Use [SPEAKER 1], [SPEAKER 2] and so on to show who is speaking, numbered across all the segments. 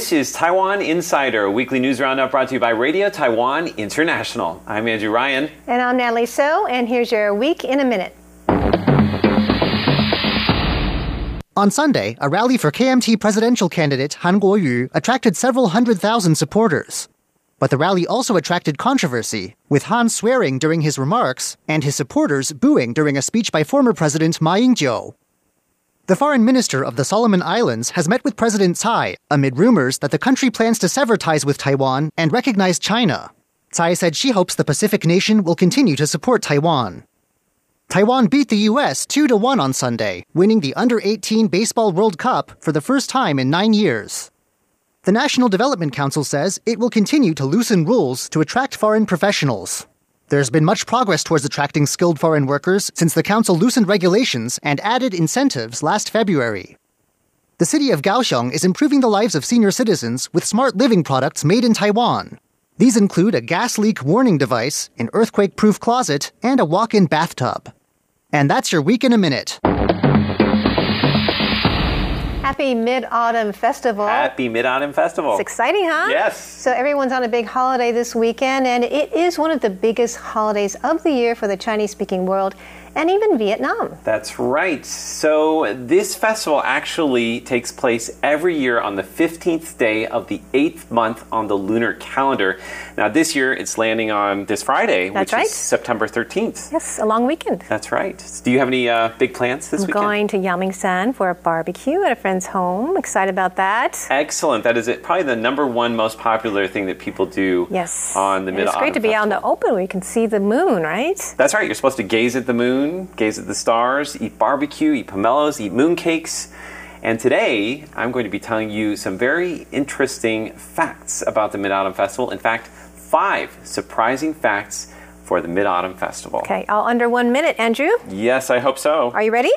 [SPEAKER 1] This is Taiwan Insider, a weekly news roundup brought to you by Radio Taiwan International. I'm Andrew Ryan.
[SPEAKER 2] And I'm Natalie So, and here's your Week in a Minute.
[SPEAKER 3] On Sunday, a rally for KMT presidential candidate Han Kuo-yu attracted several 100,000 supporters. But the rally also attracted controversy, with Han swearing during his remarks and his supporters booing during a speech by former President Ma Ying-jeou. The foreign minister of the Solomon Islands has met with President Tsai amid rumors that the country plans to sever ties with Taiwan and recognize China. Tsai said she hopes the Pacific nation will continue to support Taiwan. Taiwan beat the U.S. 2-1 on Sunday, winning the Under-18 Baseball World Cup for the first time in 9 years. The National Development Council says it will continue to loosen rules to attract foreign professionals. There's been much progress towards attracting skilled foreign workers since the council loosened regulations and added incentives last February. The city of Kaohsiung is improving the lives of senior citizens with smart living products made in Taiwan. These include a gas leak warning device, an earthquake-proof closet, and a walk-in bathtub. And that's your Week in a Minute.
[SPEAKER 2] Happy Mid-Autumn Festival.
[SPEAKER 1] Happy Mid-Autumn Festival.
[SPEAKER 2] It's exciting, huh?
[SPEAKER 1] Yes.
[SPEAKER 2] So everyone's on a big holiday this weekend, and it is one of the biggest holidays of the year for the Chinese-speaking world, and even Vietnam.
[SPEAKER 1] That's right. So this festival actually takes place every year on the 15th day of the 8th month on the lunar calendar. Now this year it's landing on this Friday,
[SPEAKER 2] That's
[SPEAKER 1] which
[SPEAKER 2] right.
[SPEAKER 1] is September 13th.
[SPEAKER 2] Yes, a long weekend.
[SPEAKER 1] That's right. Do you have any big plans this
[SPEAKER 2] I'm
[SPEAKER 1] weekend?
[SPEAKER 2] going to Yangmingshan for a barbecue at a friend's home. Excited about that.
[SPEAKER 1] Excellent. That is probably the number one most popular thing that people do
[SPEAKER 2] Yes.
[SPEAKER 1] on the
[SPEAKER 2] And
[SPEAKER 1] Mid-Autumn
[SPEAKER 2] it's great to be out in the open where you can see the moon, right?
[SPEAKER 1] That's right. You're supposed to gaze at the moon, gaze at the stars, eat barbecue, eat pomelos, eat mooncakes. And today, I'm going to be telling you some very interesting facts about the Mid-Autumn Festival. In fact, 5 surprising facts for the Mid-Autumn Festival.
[SPEAKER 2] Okay, all under 1 minute. Andrew,
[SPEAKER 1] Yes, I hope so.
[SPEAKER 2] are you ready?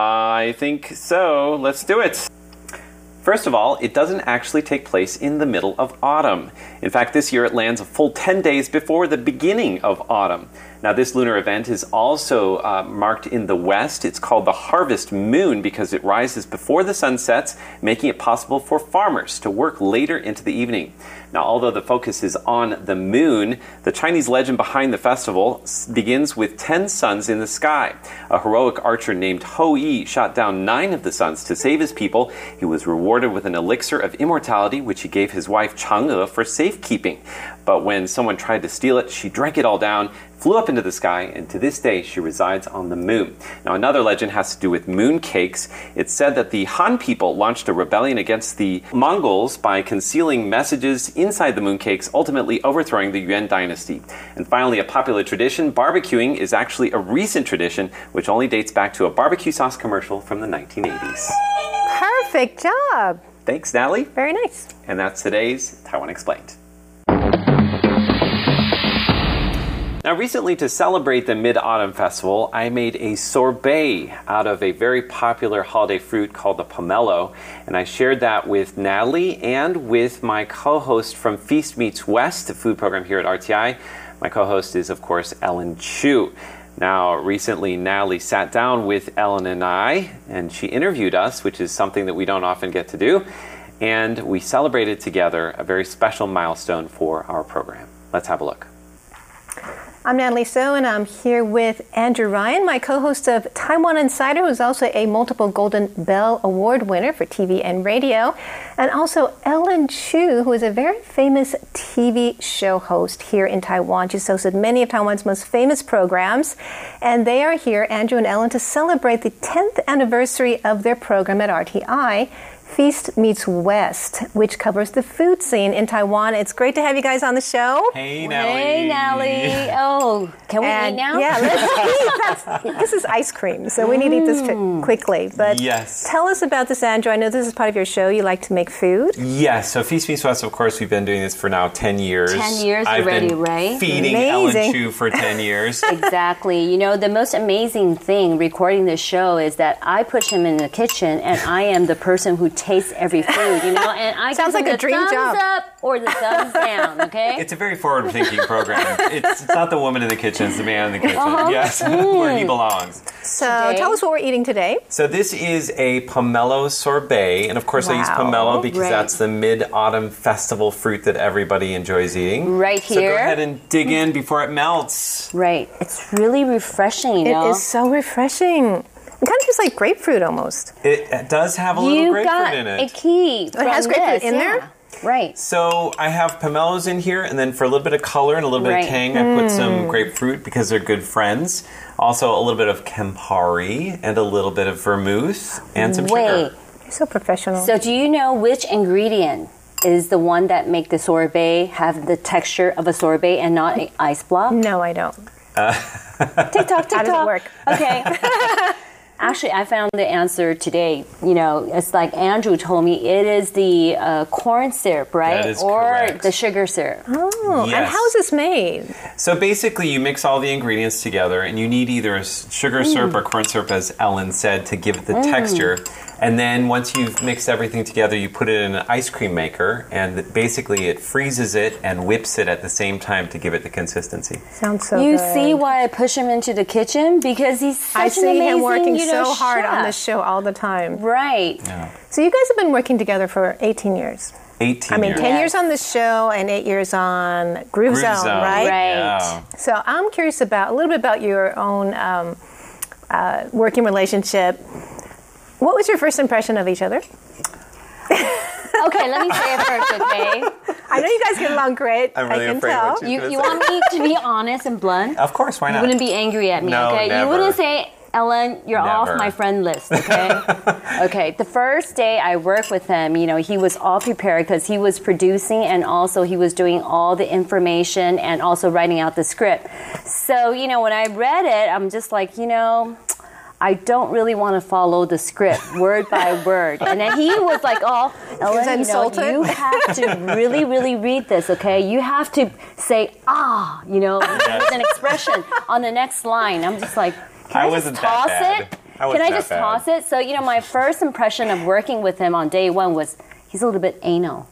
[SPEAKER 1] I think so. Let's do it. First of all, it doesn't actually take place in the middle of autumn. In fact, this year it lands a full 10 days before the beginning of autumn. Now, this lunar event is also marked in the west. It's called the harvest moon because it rises before the sun sets, making it possible for farmers to work later into the evening. Now, although the focus is on the moon, the Chinese legend behind the festival begins with 10 suns in the sky. A heroic archer named Hou Yi shot down 9 of the suns to save his people. He was rewarded with an elixir of immortality, which he gave his wife Chang'e for safekeeping. But when someone tried to steal it, she drank it all down, flew up into the sky, and to this day she resides on the moon. Now, another legend has to do with moon cakes. It's said that the Han people launched a rebellion against the Mongols by concealing messages inside the moon cakes, ultimately overthrowing the Yuan dynasty. And finally, a popular tradition, barbecuing, is actually a recent tradition which only dates back to a barbecue sauce commercial from the 1980s.
[SPEAKER 2] Perfect job.
[SPEAKER 1] Thanks, Natalie.
[SPEAKER 2] Very nice.
[SPEAKER 1] And that's today's Taiwan Explained. Now, recently, to celebrate the Mid-Autumn Festival, I made a sorbet out of a very popular holiday fruit called the pomelo, and I shared that with Natalie and with my co-host from Feast Meets West, the food program here at RTI. My co-host is, of course, Ellen Chu. Now, recently, Natalie sat down with Ellen and I, and she interviewed us, which is something that we don't often get to do, and we celebrated together a very special milestone for our program. Let's have a look.
[SPEAKER 2] I'm Natalie So, and I'm here with Andrew Ryan, my co-host of Taiwan Insider, who's also a multiple Golden Bell Award winner for TV and radio, and also Ellen Chu, who is a very famous TV show host here in Taiwan. She's hosted many of Taiwan's most famous programs, and they are here, Andrew and Ellen, to celebrate the 10th anniversary of their program at RTI, Feast Meets West, which covers the food scene in Taiwan. It's great to have you guys on the show.
[SPEAKER 1] Hey, Natalie.
[SPEAKER 4] Hey, Natalie. Oh, can we eat now?
[SPEAKER 2] Yeah, let's eat. This is ice cream, so we need to eat this quickly. But
[SPEAKER 1] Yes.
[SPEAKER 2] Tell us about this, Andrew. I know this is part of your show. You like to make food.
[SPEAKER 1] Yes, so Feast Meets West, of course, we've been doing this for now 10 years.
[SPEAKER 4] 10 years
[SPEAKER 1] I've
[SPEAKER 4] already,
[SPEAKER 1] been
[SPEAKER 4] right?
[SPEAKER 1] feeding
[SPEAKER 2] Amazing.
[SPEAKER 1] Ellen Chu for 10 years.
[SPEAKER 4] Exactly. You know, the most amazing thing recording this show is that I put him in the kitchen and I am the person who taste every food, you know. And I
[SPEAKER 2] Sounds
[SPEAKER 4] give
[SPEAKER 2] like
[SPEAKER 4] them
[SPEAKER 2] a dream
[SPEAKER 4] the
[SPEAKER 2] job.
[SPEAKER 4] thumbs up or the thumbs down. Okay.
[SPEAKER 1] It's a very forward-thinking program. It's not the woman in the kitchen; it's the man in the kitchen. Yes, where he belongs.
[SPEAKER 2] So
[SPEAKER 4] Today-
[SPEAKER 2] tell us what we're eating today.
[SPEAKER 1] So this is a pomelo sorbet, and of course I use
[SPEAKER 2] Wow.
[SPEAKER 1] pomelo because
[SPEAKER 4] Right.
[SPEAKER 1] that's the mid-autumn festival fruit that everybody enjoys eating.
[SPEAKER 4] Right
[SPEAKER 1] So go
[SPEAKER 4] here.
[SPEAKER 1] ahead and dig in before it melts.
[SPEAKER 4] Right. It's really refreshing, you
[SPEAKER 2] It
[SPEAKER 4] know.
[SPEAKER 2] is so refreshing. It kind of tastes like grapefruit almost.
[SPEAKER 1] It does have a little
[SPEAKER 4] You
[SPEAKER 1] grapefruit
[SPEAKER 4] got
[SPEAKER 1] in
[SPEAKER 4] a
[SPEAKER 1] it.
[SPEAKER 4] key.
[SPEAKER 2] it has
[SPEAKER 4] from
[SPEAKER 2] grapefruit
[SPEAKER 4] this,
[SPEAKER 2] in
[SPEAKER 4] yeah.
[SPEAKER 2] there?
[SPEAKER 4] Right.
[SPEAKER 1] So I have pomelos in here, and then for a little bit of color and a little bit
[SPEAKER 4] Right.
[SPEAKER 1] of tang, I put some grapefruit because they're good friends. Also a little bit of Campari and a little bit of vermouth and some
[SPEAKER 4] Wait.
[SPEAKER 1] sugar.
[SPEAKER 2] You're so professional.
[SPEAKER 4] So do you know which ingredient is the one that make the sorbet have the texture of a sorbet and not an ice block?
[SPEAKER 2] no, I don't.
[SPEAKER 4] TikTok.
[SPEAKER 2] How does it work?
[SPEAKER 4] Okay. Actually, I found the answer today. You know, it's like Andrew told me it is the corn syrup, right?
[SPEAKER 1] That is
[SPEAKER 4] or
[SPEAKER 1] correct.
[SPEAKER 4] the sugar syrup.
[SPEAKER 2] Oh, and
[SPEAKER 1] Yes.
[SPEAKER 2] how is this made?
[SPEAKER 1] So basically, you mix all the ingredients together, and you need either a sugar syrup or corn syrup, as Ellen said, to give it the texture. And then once you've mixed everything together, you put it in an ice cream maker, and basically it freezes it and whips it at the same time to give it the consistency.
[SPEAKER 2] Sounds so
[SPEAKER 4] You
[SPEAKER 2] good.
[SPEAKER 4] see why I push him into the kitchen? Because he's such
[SPEAKER 2] I
[SPEAKER 4] an
[SPEAKER 2] see
[SPEAKER 4] amazing,
[SPEAKER 2] him working
[SPEAKER 4] you know,
[SPEAKER 2] so hard on
[SPEAKER 4] chef.
[SPEAKER 2] this show all the time.
[SPEAKER 4] Right.
[SPEAKER 2] So you guys have been working together for 18 years.
[SPEAKER 1] 18
[SPEAKER 2] I mean,
[SPEAKER 1] years.
[SPEAKER 2] 10 years on this show and 8 years on Groove Zone, right?
[SPEAKER 4] Right.
[SPEAKER 1] Yeah.
[SPEAKER 2] So I'm curious about a little bit about your own working relationship. What was your first impression of each other?
[SPEAKER 4] Okay, let me say it first, okay?
[SPEAKER 2] I know you guys get along great.
[SPEAKER 1] I'm really
[SPEAKER 2] I can
[SPEAKER 1] afraid
[SPEAKER 2] tell.
[SPEAKER 1] what
[SPEAKER 4] You want me to be honest and blunt?
[SPEAKER 1] Of course, why
[SPEAKER 4] You
[SPEAKER 1] not?
[SPEAKER 4] wouldn't be angry at me,
[SPEAKER 1] No,
[SPEAKER 4] okay?
[SPEAKER 1] never.
[SPEAKER 4] You wouldn't say, Ellen, you're off
[SPEAKER 1] Never.
[SPEAKER 4] my friend list, okay? Okay, the first day I worked with him, you know, he was all prepared because he was producing and also he was doing all the information and also writing out the script. So, you know, when I read it, I'm just like, you know, I don't really want to follow the script word by word. And then he was like, oh, Ellen, you know,
[SPEAKER 2] insulted?
[SPEAKER 4] you have to really, really read this, okay? You have to say, you know, with an expression on the next line. I'm just like,
[SPEAKER 1] I
[SPEAKER 4] can I
[SPEAKER 1] wasn't
[SPEAKER 4] just
[SPEAKER 1] that
[SPEAKER 4] toss
[SPEAKER 1] bad.
[SPEAKER 4] it?
[SPEAKER 1] I wasn't
[SPEAKER 4] Can I
[SPEAKER 1] that
[SPEAKER 4] just
[SPEAKER 1] bad.
[SPEAKER 4] toss it? So, you know, my first impression of working with him on day one was he's a little bit anal.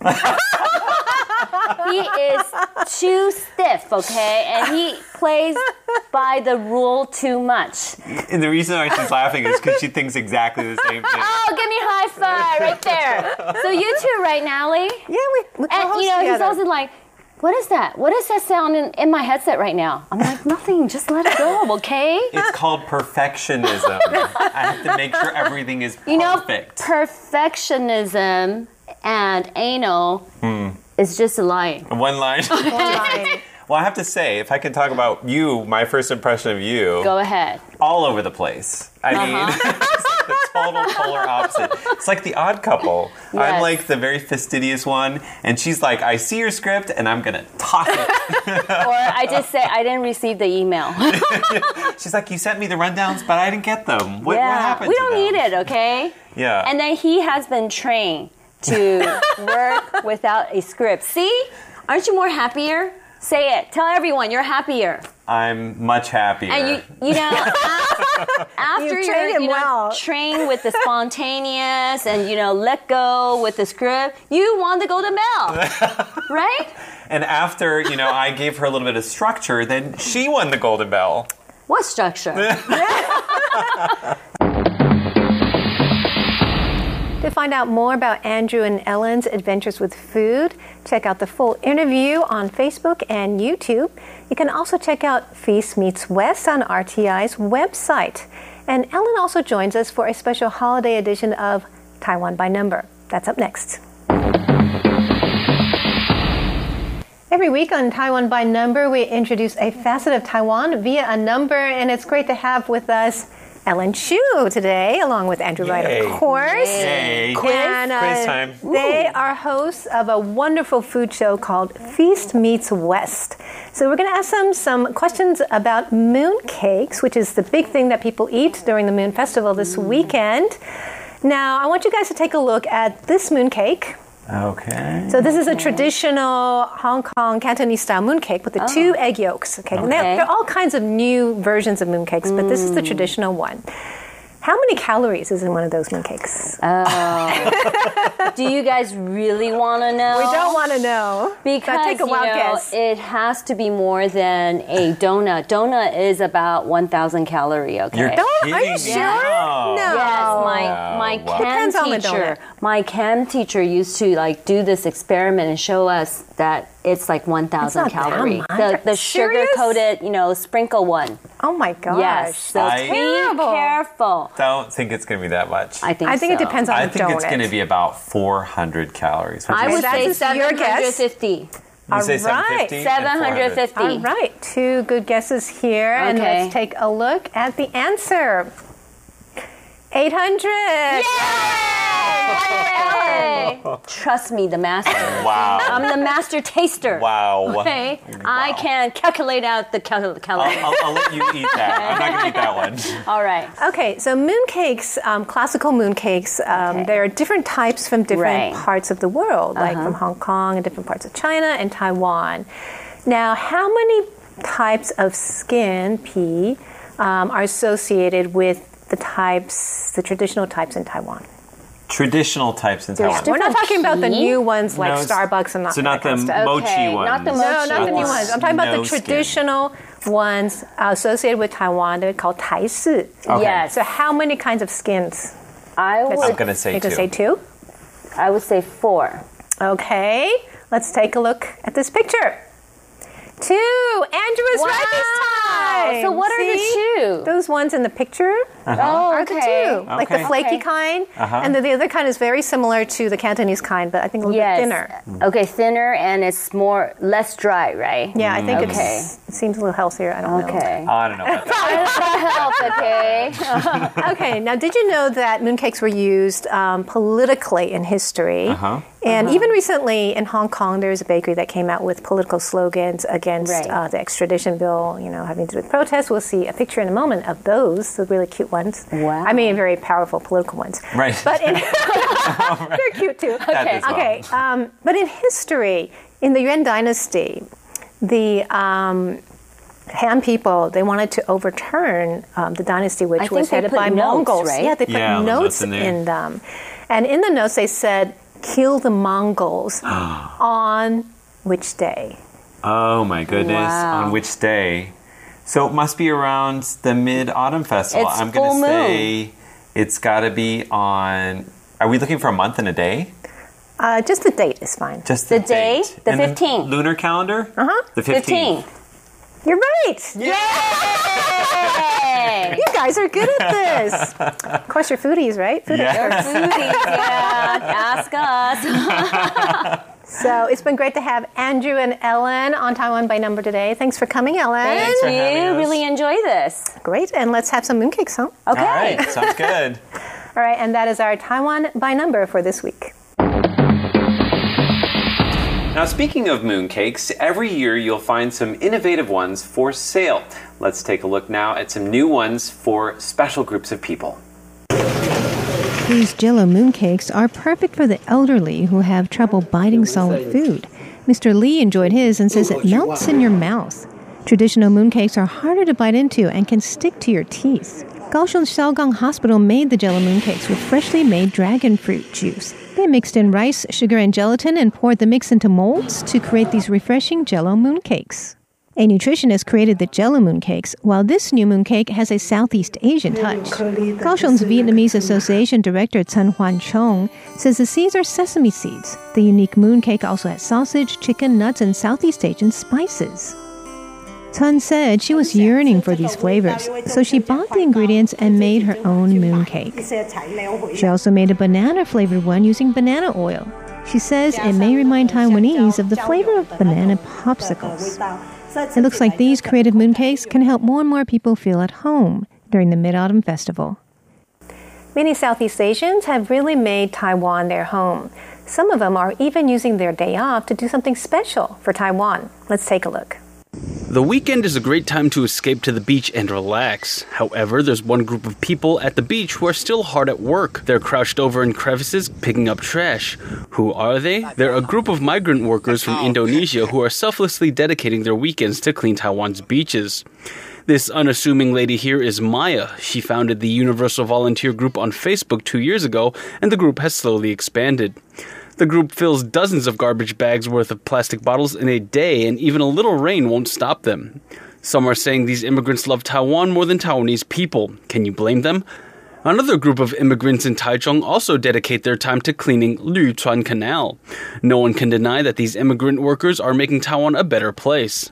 [SPEAKER 4] He is too stiff, okay? And he plays by the rule too much.
[SPEAKER 1] And the reason why she's laughing is because she thinks exactly the same thing.
[SPEAKER 4] Oh, give me a high five right there. So you two, right, Natalie?
[SPEAKER 2] Yeah, we
[SPEAKER 4] And,
[SPEAKER 2] co-host
[SPEAKER 4] you know, he's
[SPEAKER 2] together.
[SPEAKER 4] also like, what is that? What is that sound in my headset right now? I'm like, nothing. Just let it go, okay?
[SPEAKER 1] It's called perfectionism. I have to make sure everything is perfect.
[SPEAKER 4] You know, perfectionism and anal is just a lie.
[SPEAKER 1] One line.
[SPEAKER 2] Fine.
[SPEAKER 1] Well, I have to say, if I can talk about you, my first impression of you,
[SPEAKER 4] Go ahead.
[SPEAKER 1] all over the place. I mean, it's the total polar opposite. It's like the Odd Couple. I'm
[SPEAKER 4] Yes.
[SPEAKER 1] like the very fastidious one, and she's like, I see your script, and I'm gonna toss it.
[SPEAKER 4] Or I just say, I didn't receive the email.
[SPEAKER 1] She's like, you sent me the rundowns, but I didn't get them. What
[SPEAKER 4] yeah.
[SPEAKER 1] happened
[SPEAKER 4] We
[SPEAKER 1] to
[SPEAKER 4] don't
[SPEAKER 1] them?
[SPEAKER 4] need it, okay?
[SPEAKER 1] Yeah.
[SPEAKER 4] And then he has been trained to work without a script. See? Aren't you more happier? Say it. Tell everyone you're happier.
[SPEAKER 1] I'm much happier.
[SPEAKER 4] And you know, after
[SPEAKER 2] You've
[SPEAKER 4] you're
[SPEAKER 2] trained him well.
[SPEAKER 4] trained with the spontaneous and let go with the script, you won the Golden Bell, right?
[SPEAKER 1] And after, I gave her a little bit of structure, then she won the Golden Bell.
[SPEAKER 4] What structure?
[SPEAKER 2] To find out more about Andrew and Ellen's adventures with food, check out the full interview on Facebook and YouTube. You can also check out Feast Meets West on RTI's website. And Ellen also joins us for a special holiday edition of Taiwan by Number. That's up next. Every week on Taiwan by Number, we introduce a facet of Taiwan via a number, and it's great to have with us Ellen Chu today, along with Andrew Wright,
[SPEAKER 1] Yay.
[SPEAKER 2] of course.
[SPEAKER 1] Yay.
[SPEAKER 2] And,
[SPEAKER 1] Quiz time.
[SPEAKER 2] They are hosts of a wonderful food show called Feast Meets West. So we're going to ask them some questions about moon cakes, which is the big thing that people eat during the Moon Festival this weekend. Now, I want you guys to take a look at this moon cake.
[SPEAKER 1] Okay.
[SPEAKER 2] So this is a traditional Hong Kong Cantonese style mooncake with the 2 egg yolks. Okay, And there are all kinds of new versions of mooncakes, but this is the traditional one. How many calories is in one of those mooncakes?
[SPEAKER 4] Do you guys really want to know?
[SPEAKER 2] We don't want to know.
[SPEAKER 4] Because,
[SPEAKER 2] take a wild guess.
[SPEAKER 4] It has to be more than a donut. Donut is about 1,000 calories, okay?
[SPEAKER 1] You're
[SPEAKER 2] Are you
[SPEAKER 1] kidding
[SPEAKER 2] sure?
[SPEAKER 1] me?
[SPEAKER 2] No.
[SPEAKER 4] Yes, my chem
[SPEAKER 2] Depends on the
[SPEAKER 4] teacher.
[SPEAKER 2] donut.
[SPEAKER 4] My chem teacher used to like do this experiment and show us that it's like 1,000
[SPEAKER 2] It's not that
[SPEAKER 4] calories.
[SPEAKER 2] much.
[SPEAKER 4] The
[SPEAKER 2] Serious?
[SPEAKER 4] sugar-coated, sprinkle one.
[SPEAKER 2] Oh my gosh.
[SPEAKER 4] Yes, so
[SPEAKER 1] I-
[SPEAKER 4] be
[SPEAKER 2] Terrible.
[SPEAKER 4] careful.
[SPEAKER 1] Don't think it's going to be that much.
[SPEAKER 4] I think
[SPEAKER 2] it
[SPEAKER 4] so.
[SPEAKER 2] depends on
[SPEAKER 1] I
[SPEAKER 2] the
[SPEAKER 1] think
[SPEAKER 2] donut.
[SPEAKER 1] it's going to be about 400 calories.
[SPEAKER 4] I would
[SPEAKER 2] That's
[SPEAKER 4] say
[SPEAKER 2] your guess?
[SPEAKER 4] 750.
[SPEAKER 1] You say
[SPEAKER 2] All right.
[SPEAKER 1] 750?
[SPEAKER 4] 750.
[SPEAKER 2] All right, 2 good guesses here. And
[SPEAKER 4] Okay.
[SPEAKER 2] let's take a look at the answer. 800.
[SPEAKER 4] Yay! Trust me, the master.
[SPEAKER 1] Wow.
[SPEAKER 4] I'm the master taster.
[SPEAKER 1] Wow.
[SPEAKER 4] Okay, I can calculate out the calories.
[SPEAKER 1] I'll let you eat that. I'm not going to eat that one.
[SPEAKER 4] All right.
[SPEAKER 2] Okay, so mooncakes, classical mooncakes, there are different types from different
[SPEAKER 4] Right.
[SPEAKER 2] parts of the world, like from Hong Kong and different parts of China and Taiwan. Now, how many types of skin, P, are associated with the traditional types in Taiwan?
[SPEAKER 1] Traditional types in Taiwan.
[SPEAKER 2] We're not talking about the
[SPEAKER 4] P?
[SPEAKER 2] new ones like
[SPEAKER 1] No,
[SPEAKER 2] Starbucks and
[SPEAKER 1] so
[SPEAKER 2] that
[SPEAKER 1] not the
[SPEAKER 2] kind of stuff.
[SPEAKER 1] mochi
[SPEAKER 4] Okay,
[SPEAKER 1] ones.
[SPEAKER 4] not the
[SPEAKER 2] No,
[SPEAKER 4] mochi
[SPEAKER 2] not the new
[SPEAKER 4] ones.
[SPEAKER 2] ones. I'm talking about
[SPEAKER 1] No
[SPEAKER 2] the
[SPEAKER 1] skin.
[SPEAKER 2] traditional ones associated with Taiwan. They're called Tai Si.
[SPEAKER 1] Okay.
[SPEAKER 4] Yes.
[SPEAKER 2] So how many kinds of skins?
[SPEAKER 4] I
[SPEAKER 1] I'm
[SPEAKER 4] would,
[SPEAKER 1] going to say
[SPEAKER 2] You can
[SPEAKER 1] 2.
[SPEAKER 2] say 2.
[SPEAKER 4] I would say 4.
[SPEAKER 2] Okay, let's take a look at this picture. 2. Andrew is right this time.
[SPEAKER 4] So what are the
[SPEAKER 2] See?
[SPEAKER 4] 2?
[SPEAKER 2] Those ones in the picture
[SPEAKER 4] Oh,
[SPEAKER 2] are the 2. Like the
[SPEAKER 1] Okay.
[SPEAKER 2] flaky
[SPEAKER 4] Okay.
[SPEAKER 2] kind. And then the other kind is very similar to the Cantonese kind, but I think a little bit thinner.
[SPEAKER 4] Okay, thinner and it's less dry, right?
[SPEAKER 2] Yeah, I think
[SPEAKER 4] Okay.
[SPEAKER 2] it seems a little healthier. I don't know.
[SPEAKER 4] Okay.
[SPEAKER 1] Oh, I don't know about that.
[SPEAKER 4] Help, okay.
[SPEAKER 2] Okay, now did you know that mooncakes were used politically in history? And even recently in Hong Kong, there was a bakery that came out with political slogans against
[SPEAKER 4] Right.
[SPEAKER 2] the extradition bill, having to do with protests. We'll see a picture in a moment of those, the really cute ones.
[SPEAKER 4] Wow.
[SPEAKER 2] I mean, very powerful political ones.
[SPEAKER 1] Right.
[SPEAKER 2] But they're cute too.
[SPEAKER 1] That as well.
[SPEAKER 2] Okay, but in history, in the Yuan Dynasty, the Han people, they wanted to overturn the dynasty, which
[SPEAKER 4] think
[SPEAKER 2] was
[SPEAKER 4] they
[SPEAKER 2] headed
[SPEAKER 4] put
[SPEAKER 2] by
[SPEAKER 4] notes,
[SPEAKER 2] Mongols.
[SPEAKER 4] right?
[SPEAKER 2] Yeah, they put
[SPEAKER 1] Yeah, the
[SPEAKER 2] notes
[SPEAKER 1] notes in there.
[SPEAKER 2] in them. And in the notes, they said, kill the Mongols on which day?
[SPEAKER 1] Oh my goodness.
[SPEAKER 4] Wow.
[SPEAKER 1] On which day? So it must be around the Mid-Autumn Festival.
[SPEAKER 4] It's
[SPEAKER 1] I'm going
[SPEAKER 4] full
[SPEAKER 1] to say it's got to be on... Are we looking for a month and a day?
[SPEAKER 2] Just the date is fine.
[SPEAKER 1] Just
[SPEAKER 4] The day?
[SPEAKER 1] date.
[SPEAKER 4] The
[SPEAKER 1] And
[SPEAKER 4] 15th.
[SPEAKER 1] lunar calendar?
[SPEAKER 2] Uh-huh.
[SPEAKER 1] The 15th.
[SPEAKER 4] 15.
[SPEAKER 2] You're right.
[SPEAKER 4] Yay!
[SPEAKER 2] You guys are good at this. Of course, you're foodies, right? Food
[SPEAKER 1] Yes.
[SPEAKER 4] Foodies, yeah. Ask us.
[SPEAKER 2] So it's been great to have Andrew and Ellen on Taiwan by Number today. Thanks for coming, Ellen.
[SPEAKER 1] Thanks for
[SPEAKER 4] Thank
[SPEAKER 1] having
[SPEAKER 4] you.
[SPEAKER 1] us.
[SPEAKER 4] Really enjoy this.
[SPEAKER 2] Great. And let's have some mooncakes, huh?
[SPEAKER 4] Okay.
[SPEAKER 1] All right. Sounds good.
[SPEAKER 2] All right. And that is our Taiwan by Number for this week.
[SPEAKER 1] Now, speaking of mooncakes, every year you'll find some innovative ones for sale. Let's take a look now at some new ones for special groups of people.
[SPEAKER 2] These Jell-O mooncakes are perfect for the elderly who have trouble biting solid food. Mr. Lee enjoyed his and says it melts in your mouth. Traditional mooncakes are harder to bite into and can stick to your teeth. Kaohsiung Xiaogang Hospital made the Jell-O mooncakes with freshly made dragon fruit juice. They mixed in rice, sugar, and gelatin and poured the mix into molds to create these refreshing Jell-O mooncakes. A nutritionist created the Jell-O mooncakes, while this new mooncake has a Southeast Asian touch. Kaohsiung's Vietnamese Association Director Chen Huan Chong says the seeds are sesame seeds. The unique mooncake also has sausage, chicken, nuts, and Southeast Asian spices. Chen said she was yearning for these flavors, so she bought the ingredients and made her own mooncake. She also made a banana-flavored one using banana oil. She says it may remind Taiwanese of the flavor of banana popsicles. It looks like these creative mooncakes can help more and more people feel at home during the Mid-Autumn Festival. Many Southeast Asians have really made Taiwan their home. Some of them are even using their day off to do something special for Taiwan. Let's take a look.
[SPEAKER 5] The weekend is a great time to escape to the beach and relax. However, there's one group of people at the beach who are still hard at work. They're crouched over in crevices picking up trash. Who are they? They're a group of migrant workers from Indonesia who are selflessly dedicating their weekends to clean Taiwan's beaches. This unassuming lady here is Maya. She founded the Universal Volunteer Group on Facebook 2 years ago, and the group has slowly expanded. The group fills dozens of garbage bags worth of plastic bottles in a day, and even a little rain won't stop them. Some are saying these immigrants love Taiwan more than Taiwanese people. Can you blame them? Another group of immigrants in Taichung also dedicate their time to cleaning Lüchuan Canal. No one can deny that these immigrant workers are making Taiwan a better place.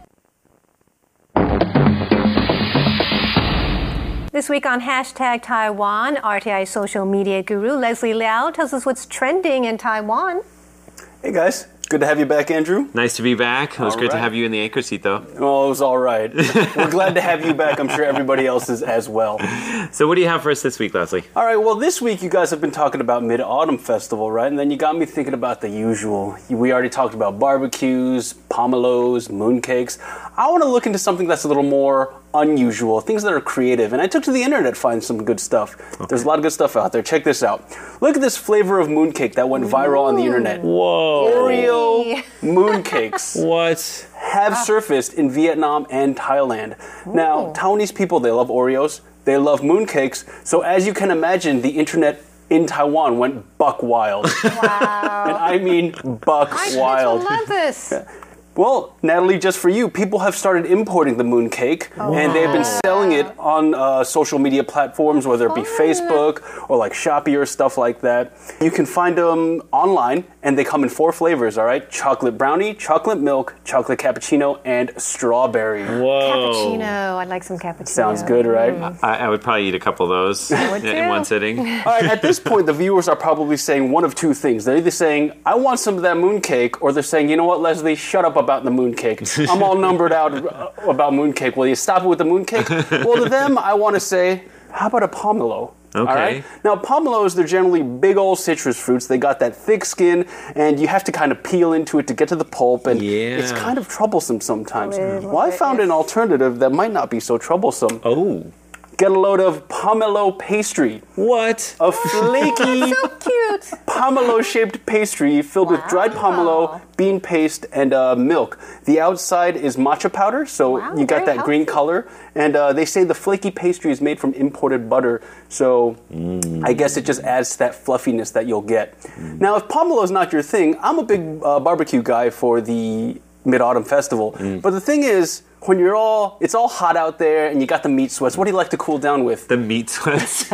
[SPEAKER 2] This week on Hashtag Taiwan, RTI social media guru Leslie Liao tells us what's trending in Taiwan.
[SPEAKER 6] Hey guys, good to have you back, Andrew.
[SPEAKER 1] Nice to be back. It was great to have you in the anchor seat, though.
[SPEAKER 6] Well, it was all right. We're glad to have you back. I'm sure everybody else is as well.
[SPEAKER 1] So what do you have for us this week, Leslie?
[SPEAKER 6] All right, well, this week you guys have been talking about Mid-Autumn Festival, right? And then you got me thinking about the usual. We already talked about barbecues, pomelos, mooncakes. I want to look into something that's a little more unusual, things that are creative. And I took to the internet to find some good stuff. Okay. There's a lot of good stuff out there. Check this out. Look at this flavor of mooncake that went viral on the internet.
[SPEAKER 1] Whoa.
[SPEAKER 6] Oreo mooncakes.
[SPEAKER 1] What?
[SPEAKER 6] Have surfaced in Vietnam and Thailand. Now, Taiwanese people, they love Oreos. They love mooncakes. So as you can imagine, the internet in Taiwan went buck wild.
[SPEAKER 2] Wow.
[SPEAKER 6] And I mean buck wild.
[SPEAKER 2] I love this.
[SPEAKER 6] Well, Natalie, just for you, people have started importing the mooncake, and they've been selling it on social media platforms, whether it be Facebook or like Shopee or stuff like that. You can find them online, and they come in 4 flavors, all right? Chocolate brownie, chocolate milk, chocolate cappuccino, and strawberry.
[SPEAKER 1] Whoa.
[SPEAKER 2] Cappuccino. I'd like some cappuccino.
[SPEAKER 6] Sounds good, right?
[SPEAKER 1] I would probably eat a couple of those in one sitting.
[SPEAKER 6] All right, at this point, the viewers are probably saying one of 2 things. They're either saying, I want some of that mooncake, or they're saying, you know what, Leslie, shut up about the mooncake. I'm all numbered out about mooncake. Will you stop it with the mooncake? Well, to them, I want to say, how about a pomelo?
[SPEAKER 1] Okay.
[SPEAKER 6] All right? Now, pomelos, they're generally big old citrus fruits. They got that thick skin, and you have to kind of peel into it to get to the pulp, and it's kind of troublesome sometimes. Well, I found an alternative that might not be so troublesome.
[SPEAKER 1] Oh.
[SPEAKER 6] Get a load of pomelo pastry.
[SPEAKER 1] What?
[SPEAKER 6] A flaky,
[SPEAKER 2] So cute.
[SPEAKER 6] pomelo-shaped pastry filled with dried pomelo, bean paste, and milk. The outside is matcha powder, so you got that green color. And they say the flaky pastry is made from imported butter, so I guess it just adds to that fluffiness that you'll get. Now, if pomelo is not your thing, I'm a big barbecue guy for the Mid-Autumn Festival. But the thing is, when it's all hot out there and you got the meat sweats, what do you like to cool down with?
[SPEAKER 1] The meat sweats.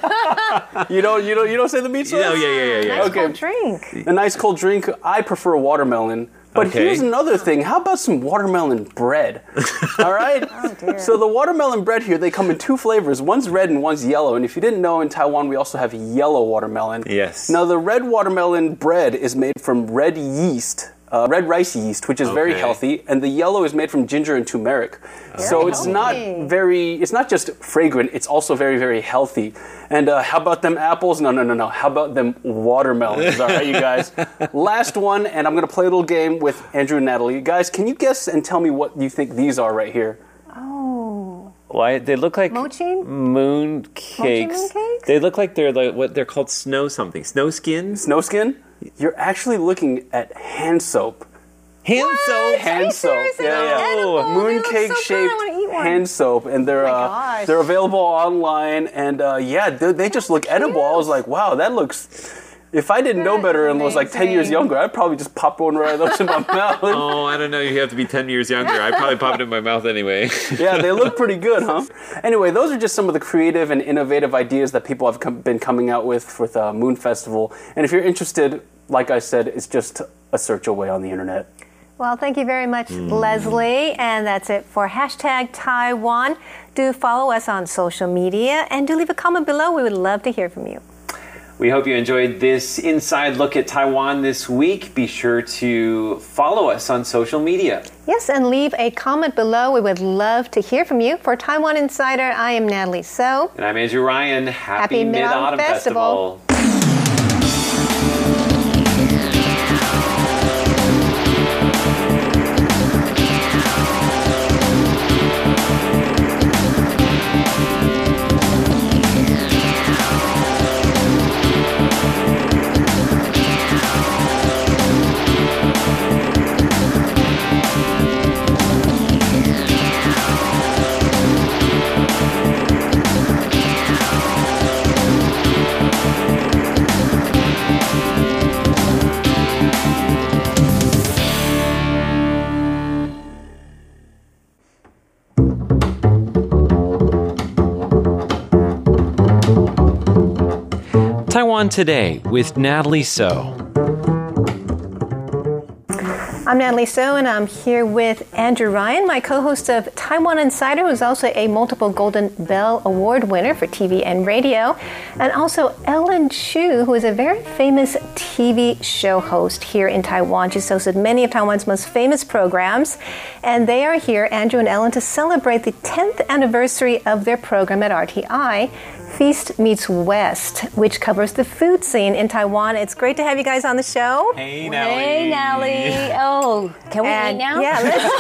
[SPEAKER 6] You don't say the meat sweats?
[SPEAKER 1] No, yeah.
[SPEAKER 2] Nice cold drink.
[SPEAKER 6] A nice cold drink. I prefer watermelon. But here's another thing. How about some watermelon bread? All right?
[SPEAKER 2] Oh, dear.
[SPEAKER 6] So the watermelon bread here, they come in 2 flavors. One's red and one's yellow. And if you didn't know, in Taiwan, we also have yellow watermelon.
[SPEAKER 1] Yes.
[SPEAKER 6] Now, the red watermelon bread is made from red yeast. Red rice yeast, which is very healthy, and the yellow is made from ginger and turmeric. So it's it's not just fragrant, it's also very, very healthy. And how about them apples? No. How about them watermelons? All right, you guys. Last one, and I'm going to play a little game with Andrew and Natalie. Guys, can you guess and tell me what you think these are right here?
[SPEAKER 2] Oh.
[SPEAKER 1] Why they look like
[SPEAKER 2] Mochi
[SPEAKER 1] mooncakes.
[SPEAKER 2] mooncakes?
[SPEAKER 1] They look like they're like what they're called snow skin.
[SPEAKER 6] Snow skin? You're actually looking at hand soap.
[SPEAKER 1] Hand soap.
[SPEAKER 6] Hand soap. Mooncake shaped hand soap, and they're available online, and they just look edible. I was like, wow, that looks. If I didn't know better and was like 10 years younger, I'd probably just pop one right of those in my mouth.
[SPEAKER 1] Oh, I don't know. You have to be 10 years younger. I'd probably pop it in my mouth anyway.
[SPEAKER 6] Yeah, they look pretty good, huh? Anyway, those are just some of the creative and innovative ideas that people have been coming out with Moon Festival. And if you're interested, like I said, it's just a search away on the internet.
[SPEAKER 2] Well, thank you very much, Leslie. And that's it for Hashtag Taiwan. Do follow us on social media and do leave a comment below. We would love to hear from you.
[SPEAKER 1] We hope you enjoyed this inside look at Taiwan this week. Be sure to follow us on social media.
[SPEAKER 2] Yes, and leave a comment below. We would love to hear from you. For Taiwan Insider, I am Natalie So.
[SPEAKER 1] And I'm Andrew Ryan.
[SPEAKER 2] Happy Mid-Autumn Festival.
[SPEAKER 1] Taiwan Today with Natalie So.
[SPEAKER 2] I'm Natalie So, and I'm here with Andrew Ryan, my co-host of Taiwan Insider, who's also a multiple Golden Bell Award winner for TV and radio, and also Ellen Chu, who is a very famous TV show host here in Taiwan. She's hosted many of Taiwan's most famous programs, and they are here, Andrew and Ellen, to celebrate the 10th anniversary of their program at RTI, Feast Meets West, which covers the food scene in Taiwan. It's great to have you guys on the show.
[SPEAKER 1] Hey, Natalie.
[SPEAKER 4] Hey, Natalie. Oh, can we eat now?
[SPEAKER 2] Yeah,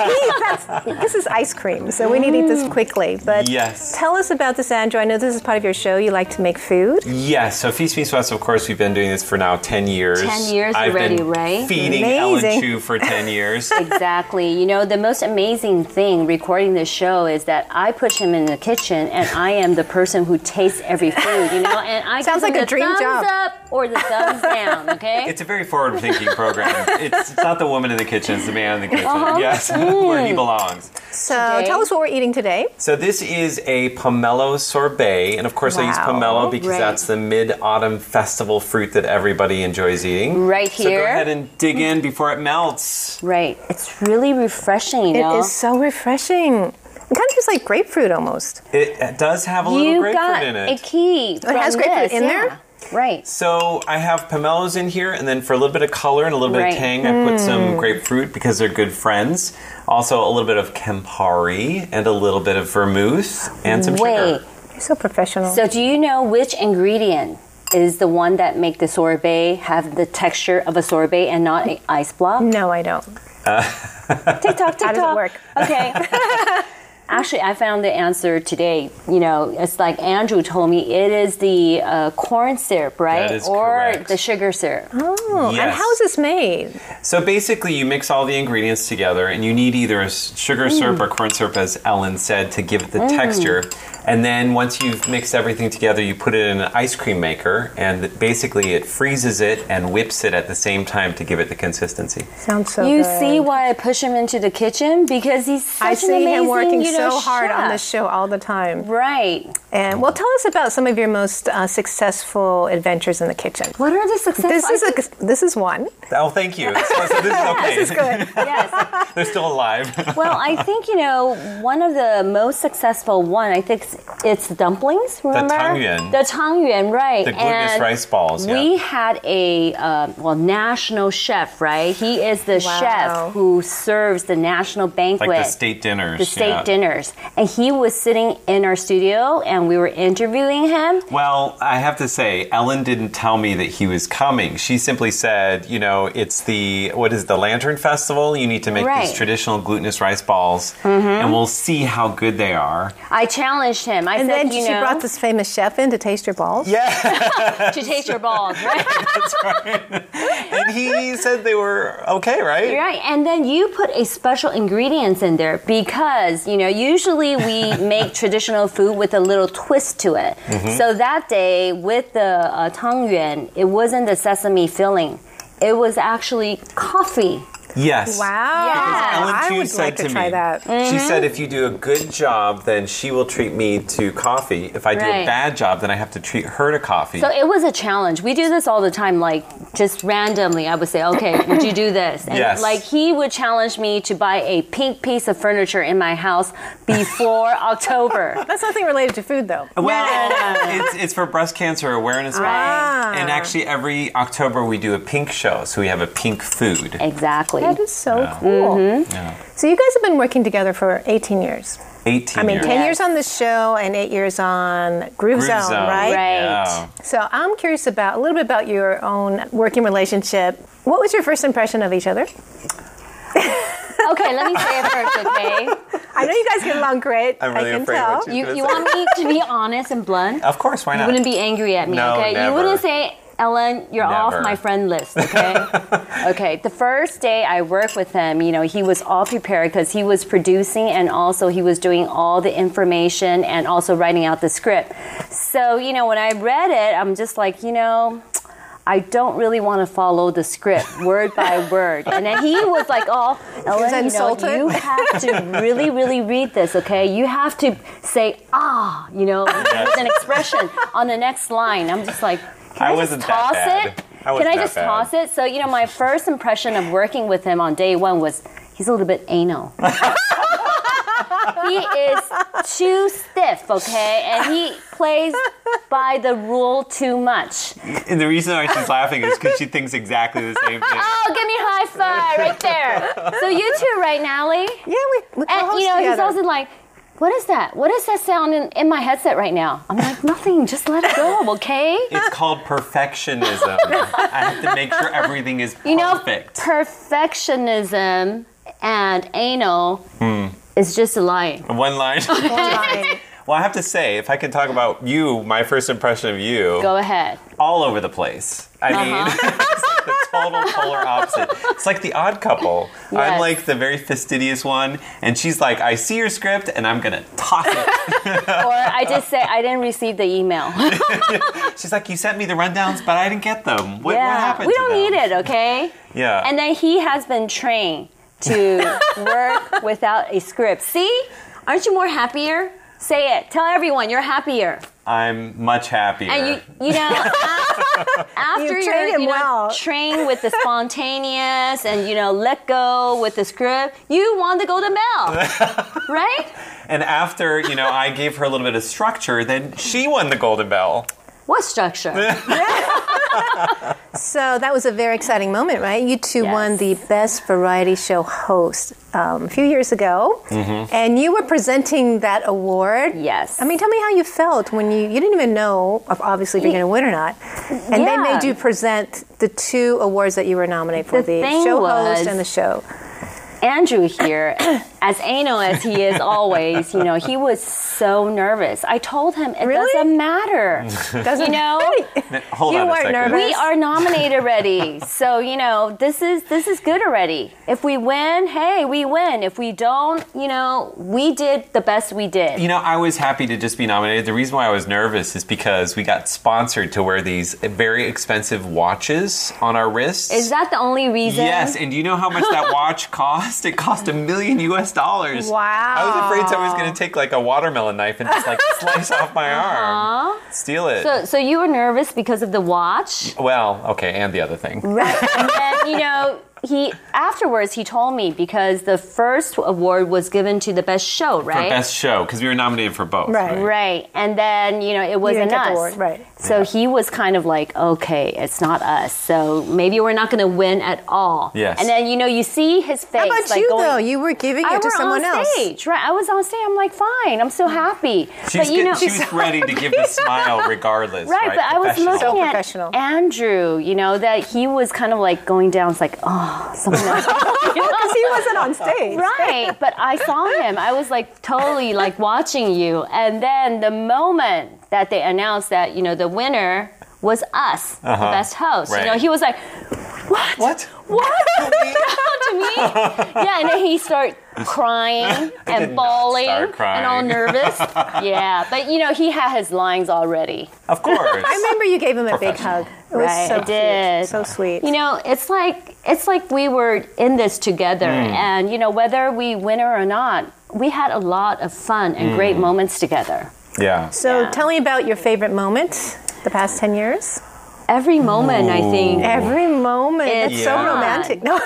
[SPEAKER 2] let's eat. This is ice cream, so we need to eat this quickly. But
[SPEAKER 1] Yes.
[SPEAKER 2] tell us about this, Andrew. I know this is part of your show. You like to make food.
[SPEAKER 1] Yes, so Feast Meets West, of course, we've been doing this for now 10 years.
[SPEAKER 4] 10 years
[SPEAKER 1] I've
[SPEAKER 4] already,
[SPEAKER 1] been
[SPEAKER 4] right?
[SPEAKER 1] feeding
[SPEAKER 2] Amazing.
[SPEAKER 1] Ellen Chu for 10 years.
[SPEAKER 4] Exactly. You know, the most amazing thing recording this show is that I push him in the kitchen and I am the person who tastes every food, you know, and I
[SPEAKER 2] Sounds
[SPEAKER 4] give him
[SPEAKER 2] like a
[SPEAKER 4] the
[SPEAKER 2] dream
[SPEAKER 4] thumbs
[SPEAKER 2] job.
[SPEAKER 4] up or the thumbs down, okay?
[SPEAKER 1] It's a very forward-thinking program. It's not the woman in the kitchen, it's the man in the kitchen.
[SPEAKER 4] Uh-huh.
[SPEAKER 1] Yes, where he belongs.
[SPEAKER 2] So
[SPEAKER 4] Today?
[SPEAKER 2] tell us what we're eating today.
[SPEAKER 1] So this is a pomelo sorbet, and of course I use
[SPEAKER 2] Wow.
[SPEAKER 1] pomelo because
[SPEAKER 4] Right.
[SPEAKER 1] that's the mid-autumn festival fruit that everybody enjoys eating.
[SPEAKER 4] Right
[SPEAKER 1] So go
[SPEAKER 4] here.
[SPEAKER 1] ahead and dig in before it melts.
[SPEAKER 4] Right. It's really refreshing, you know?
[SPEAKER 2] It is so refreshing. It kind of tastes like grapefruit almost.
[SPEAKER 1] It does have a little
[SPEAKER 4] You
[SPEAKER 1] grapefruit
[SPEAKER 4] got
[SPEAKER 1] in
[SPEAKER 4] a
[SPEAKER 1] it.
[SPEAKER 4] key.
[SPEAKER 2] It has
[SPEAKER 4] from
[SPEAKER 2] grapefruit
[SPEAKER 4] this,
[SPEAKER 2] in
[SPEAKER 4] yeah.
[SPEAKER 2] there?
[SPEAKER 4] Right.
[SPEAKER 1] So I have pomelos in here, and then for a little bit of color and a little bit
[SPEAKER 4] Right.
[SPEAKER 1] of tang, I put some grapefruit because they're good friends. Also a little bit of Campari and a little bit of vermouth and some
[SPEAKER 4] Wait.
[SPEAKER 1] sugar.
[SPEAKER 2] You're so professional.
[SPEAKER 4] So do you know which ingredient is the one that make the sorbet have the texture of a sorbet and not an ice block?
[SPEAKER 2] no, I don't.
[SPEAKER 4] TikTok, TikTok.
[SPEAKER 2] How does it work?
[SPEAKER 4] Okay. Actually, I found the answer today. You know, it's like Andrew told me it is the corn syrup, right?
[SPEAKER 1] That is
[SPEAKER 4] or
[SPEAKER 1] correct.
[SPEAKER 4] the sugar syrup.
[SPEAKER 2] Oh, and
[SPEAKER 1] Yes.
[SPEAKER 2] how is this made?
[SPEAKER 1] So basically, you mix all the ingredients together, and you need either a sugar syrup or corn syrup, as Ellen said, to give it the texture. And then once you've mixed everything together, you put it in an ice cream maker, and basically it freezes it and whips it at the same time to give it the consistency.
[SPEAKER 2] Sounds so
[SPEAKER 4] You
[SPEAKER 2] good.
[SPEAKER 4] see why I push him into the kitchen? Because he's such
[SPEAKER 2] I
[SPEAKER 4] an
[SPEAKER 2] see
[SPEAKER 4] amazing,
[SPEAKER 2] him working
[SPEAKER 4] you know,
[SPEAKER 2] so hard on
[SPEAKER 4] chef.
[SPEAKER 2] this show all the time.
[SPEAKER 4] Right.
[SPEAKER 2] And well, tell us about some of your most successful adventures in the kitchen.
[SPEAKER 4] What are the successes?
[SPEAKER 2] This is one.
[SPEAKER 1] Oh, thank you. So this is okay.
[SPEAKER 2] This is good.
[SPEAKER 4] Yes.
[SPEAKER 1] They're still alive.
[SPEAKER 4] Well, I think, you know, one of the most successful one, I think it's dumplings, remember?
[SPEAKER 1] tangyuan.
[SPEAKER 4] The tangyuan, right.
[SPEAKER 1] The glutinous
[SPEAKER 4] And
[SPEAKER 1] rice balls, yeah.
[SPEAKER 4] We had a, national chef, right? He is the
[SPEAKER 2] Wow.
[SPEAKER 4] chef who serves the national banquet.
[SPEAKER 1] Like the state dinners.
[SPEAKER 4] The state
[SPEAKER 1] yeah.
[SPEAKER 4] dinners. And he was sitting in our studio and we were interviewing him.
[SPEAKER 1] Well, I have to say, Ellen didn't tell me that he was coming. She simply said, you know, it's the Lantern Festival. You need to make
[SPEAKER 4] Right.
[SPEAKER 1] these traditional glutinous rice balls, and we'll see how good they are.
[SPEAKER 4] I challenged him. I
[SPEAKER 2] And
[SPEAKER 4] said,
[SPEAKER 2] then
[SPEAKER 4] you
[SPEAKER 2] she
[SPEAKER 4] know,
[SPEAKER 2] brought this famous chef in to taste your balls.
[SPEAKER 1] Yeah,
[SPEAKER 4] to taste your balls, right?
[SPEAKER 1] and he said they were okay, right?
[SPEAKER 4] Right, and then you put a special ingredients in there because, you know, usually we make traditional food with a little twist to it. So that day with the tangyuan, it wasn't the sesame filling. It was actually coffee.
[SPEAKER 1] Yes.
[SPEAKER 2] Wow.
[SPEAKER 4] Yeah.
[SPEAKER 1] Ellen
[SPEAKER 2] I
[SPEAKER 1] Chu
[SPEAKER 2] would
[SPEAKER 1] said
[SPEAKER 2] like to
[SPEAKER 1] to
[SPEAKER 2] try
[SPEAKER 1] me,
[SPEAKER 2] that.
[SPEAKER 1] she said, if you do a good job, then she will treat me to coffee. If I do a
[SPEAKER 4] Right.
[SPEAKER 1] bad job, then I have to treat her to coffee.
[SPEAKER 4] So it was a challenge. We do this all the time, like just randomly. I would say, okay, would you do this? And
[SPEAKER 1] Yes.
[SPEAKER 4] like he would challenge me to buy a pink piece of furniture in my house before October.
[SPEAKER 2] That's nothing related to food, though.
[SPEAKER 1] Well, it's for Breast Cancer Awareness Month.
[SPEAKER 2] Ah.
[SPEAKER 1] And actually, every October we do a pink show, so we have a pink food.
[SPEAKER 4] Exactly.
[SPEAKER 2] That is so cool.
[SPEAKER 1] Yeah.
[SPEAKER 2] So you guys have been working together for 18 years.
[SPEAKER 1] 18
[SPEAKER 2] I mean,
[SPEAKER 1] years.
[SPEAKER 2] 10
[SPEAKER 4] Yes.
[SPEAKER 2] years on the show and 8 years on Groove Zone, right?
[SPEAKER 4] Right.
[SPEAKER 1] Yeah.
[SPEAKER 2] So I'm curious about a little bit about your own working relationship. What was your first impression of each other?
[SPEAKER 4] Okay, let me say it first, okay?
[SPEAKER 2] I know you guys get along great.
[SPEAKER 1] I'm really
[SPEAKER 2] I can
[SPEAKER 1] afraid
[SPEAKER 2] tell.
[SPEAKER 1] what
[SPEAKER 4] You want me to be honest and blunt?
[SPEAKER 1] Of course, why
[SPEAKER 4] You
[SPEAKER 1] not?
[SPEAKER 4] wouldn't be angry at me,
[SPEAKER 1] No,
[SPEAKER 4] okay?
[SPEAKER 1] never.
[SPEAKER 4] You wouldn't say, Ellen, you're off
[SPEAKER 1] Never.
[SPEAKER 4] my friend list, okay? Okay, the first day I worked with him, you know, he was all prepared because he was producing and also he was doing all the information and also writing out the script. So, you know, when I read it, I'm just like, you know, I don't really want to follow the script word by word. And then he was like, oh, Ellen, you know,
[SPEAKER 2] insulted?
[SPEAKER 4] you have to really, really read this, okay? You have to say, you know, with an expression on the next line. I'm just like,
[SPEAKER 1] I wasn't
[SPEAKER 4] toss
[SPEAKER 1] that bad.
[SPEAKER 4] it? Can I just toss it? So, my first impression of working with him on day one was he's a little bit anal. He is too stiff, okay? And he plays by the rule too much.
[SPEAKER 1] And the reason why she's laughing is because she thinks exactly the same thing.
[SPEAKER 4] Oh, give me a high five right there. So you two, right, Natalie?
[SPEAKER 2] Yeah, we
[SPEAKER 4] And, he's also like, what is that? What is that sound in my headset right now? I'm like, nothing. Just let it go, okay?
[SPEAKER 1] It's called perfectionism. I have to make sure everything is perfect.
[SPEAKER 4] Perfectionism and anal is just a line.
[SPEAKER 1] One line. Well, I have to say, if I can talk about you, my first impression of you.
[SPEAKER 4] Go ahead.
[SPEAKER 1] All over the place. I mean, it's like the total polar opposite. It's like the Odd Couple.
[SPEAKER 4] Yes.
[SPEAKER 1] I'm like the very fastidious one, and she's like, I see your script, and I'm going to toss it.
[SPEAKER 4] Or I just say, I didn't receive the email.
[SPEAKER 1] She's like, you sent me the rundowns, but I didn't get them. What happened
[SPEAKER 4] we
[SPEAKER 1] to
[SPEAKER 4] don't
[SPEAKER 1] them?
[SPEAKER 4] need it, okay?
[SPEAKER 1] Yeah.
[SPEAKER 4] And then he has been trained to work without a script. See? Aren't you more happier? Say it. Tell everyone you're happier.
[SPEAKER 1] I'm much happier.
[SPEAKER 4] And after you're trained with the spontaneous and let go with the script, you won the Golden Bell, right?
[SPEAKER 1] And after I gave her a little bit of structure, then she won the Golden Bell.
[SPEAKER 4] What structure?
[SPEAKER 2] So that was a very exciting moment, right? You two won the Best Variety Show Host a few years ago, and you were presenting that award.
[SPEAKER 4] Yes.
[SPEAKER 2] I mean, tell me how you felt when you didn't even know, if you're going to win or not, and they made you present the two awards that you were nominated for, the show host and the show.
[SPEAKER 4] Andrew here, as anal as he is always, he was so nervous. I told him it doesn't matter.
[SPEAKER 1] Hold on a second.
[SPEAKER 2] Nervous.
[SPEAKER 4] We are nominated already. So, this is good already. If we win, hey, we win. If we don't, we did the best we did.
[SPEAKER 1] I was happy to just be nominated. The reason why I was nervous is because we got sponsored to wear these very expensive watches on our wrists.
[SPEAKER 4] Is that the only reason?
[SPEAKER 1] Yes, and do you know how much that watch cost? It cost $1 million.
[SPEAKER 2] Wow.
[SPEAKER 1] I was afraid someone was going to take like a watermelon knife and just slice off my arm. Steal it.
[SPEAKER 4] So you were nervous because of the watch?
[SPEAKER 1] Well, okay, and the other thing.
[SPEAKER 4] Right. And then, afterwards he told me because the first award was given to the best show, right?
[SPEAKER 1] For best show, because we were nominated for both.
[SPEAKER 4] Right. And then, it wasn't us.
[SPEAKER 2] Award, right.
[SPEAKER 4] So he was kind of like, okay, it's not us. So maybe we're not going to win at all.
[SPEAKER 1] Yes.
[SPEAKER 4] And then, you see his face.
[SPEAKER 2] How about you, though? You were giving it to someone else.
[SPEAKER 4] Stage, right? I was on stage. I'm like, fine. I'm so happy.
[SPEAKER 1] She was ready to give the smile regardless.
[SPEAKER 4] Right, but I was looking
[SPEAKER 2] So
[SPEAKER 4] at
[SPEAKER 2] professional.
[SPEAKER 4] Andrew, that he was kind of like going down. It's like, oh, someone else.
[SPEAKER 2] Because he wasn't on stage.
[SPEAKER 4] Right, but I saw him. I was like totally like watching you. And then the moment that they announced that, the winner was us, the best host.
[SPEAKER 1] Right.
[SPEAKER 4] He was like, what? What happened to me? Yeah, and then he started crying and bawling and all nervous. Yeah, but he had his lines already.
[SPEAKER 1] Of course.
[SPEAKER 2] I remember you gave him a big hug. It was so
[SPEAKER 4] I did.
[SPEAKER 2] Cute. So sweet.
[SPEAKER 4] It's like we were in this together, and whether we win or not, we had a lot of fun and great moments together.
[SPEAKER 1] Yeah.
[SPEAKER 2] So tell me about your favorite moment the past 10 years.
[SPEAKER 4] Every moment, I think.
[SPEAKER 2] Every moment. It's so romantic. No.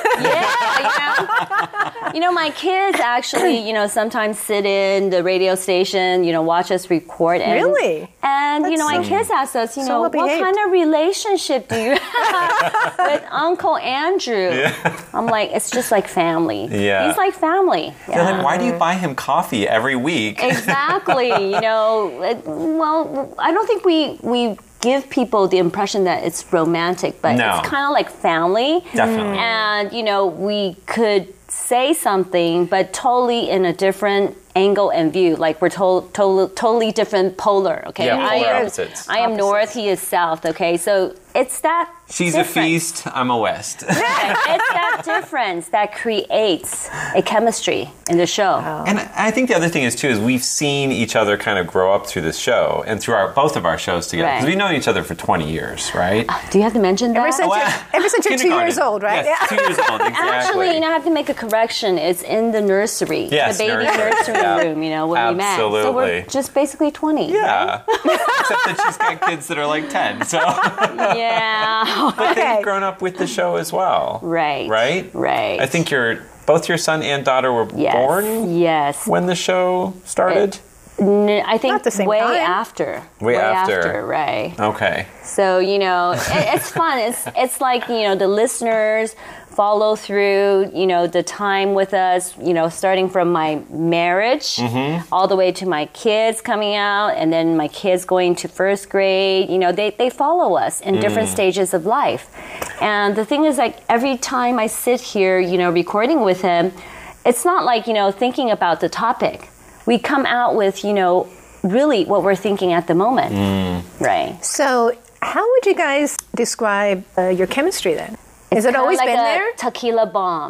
[SPEAKER 4] Yeah, my kids actually, sometimes sit in the radio station, watch us record. And,
[SPEAKER 2] Really?
[SPEAKER 4] And, my kids ask us, what kind of relationship do you have with Uncle Andrew? Yeah. I'm like, it's just like family.
[SPEAKER 1] Yeah.
[SPEAKER 4] He's like family.
[SPEAKER 1] They're like, why do you buy him coffee every week?
[SPEAKER 4] Exactly. Well, I don't think we give people the impression that it's romantic, but it's kind of like family.
[SPEAKER 1] Definitely.
[SPEAKER 4] And, we could say something, but totally in a different angle and view. Like we're totally different polar, okay?
[SPEAKER 1] Yeah, polar opposites.
[SPEAKER 4] I am north, he is south, okay? So it's that
[SPEAKER 1] She's
[SPEAKER 4] difference.
[SPEAKER 1] a feast, I'm a west.
[SPEAKER 4] It's that difference that creates a chemistry in the show.
[SPEAKER 1] And I think the other thing is, too, is we've seen each other kind of grow up through this show and through both of our shows together. Because we've known each other for 20 years, right?
[SPEAKER 4] Do you have to mention that?
[SPEAKER 2] Ever since you're 2 years old, right?
[SPEAKER 1] Yes, 2 years old, exactly.
[SPEAKER 4] Actually, I have to make a correction. It's in the nursery.
[SPEAKER 1] Yes,
[SPEAKER 4] the baby nursery. room, you know, when we met. So
[SPEAKER 1] Absolutely.
[SPEAKER 4] we're just basically 20.
[SPEAKER 1] Yeah. Except that she's got kids that are like 10. So,
[SPEAKER 4] Yeah.
[SPEAKER 1] but they've grown up with the show as well.
[SPEAKER 4] Right.
[SPEAKER 1] Right?
[SPEAKER 4] Right.
[SPEAKER 1] I think both your son and daughter were born
[SPEAKER 4] Yes.
[SPEAKER 1] when the show started.
[SPEAKER 4] I think
[SPEAKER 2] Not the same
[SPEAKER 4] way
[SPEAKER 2] time.
[SPEAKER 4] after.
[SPEAKER 1] Way after.
[SPEAKER 4] Right.
[SPEAKER 1] Okay.
[SPEAKER 4] So, you know, it's fun. It's like, you know, the listeners follow through, you know, the time with us, you know, starting from my marriage all the way to my kids coming out and then my kids going to first grade. You know, they follow us in different stages of life. And the thing is, like, every time I sit here, you know, recording with him, it's not like, you know, thinking about the topic. We come out with, you know, really what we're thinking at the moment. Right.
[SPEAKER 2] So, how would you guys describe your chemistry then? Has it always
[SPEAKER 4] like
[SPEAKER 2] been
[SPEAKER 4] a
[SPEAKER 2] there?
[SPEAKER 4] Tequila bomb.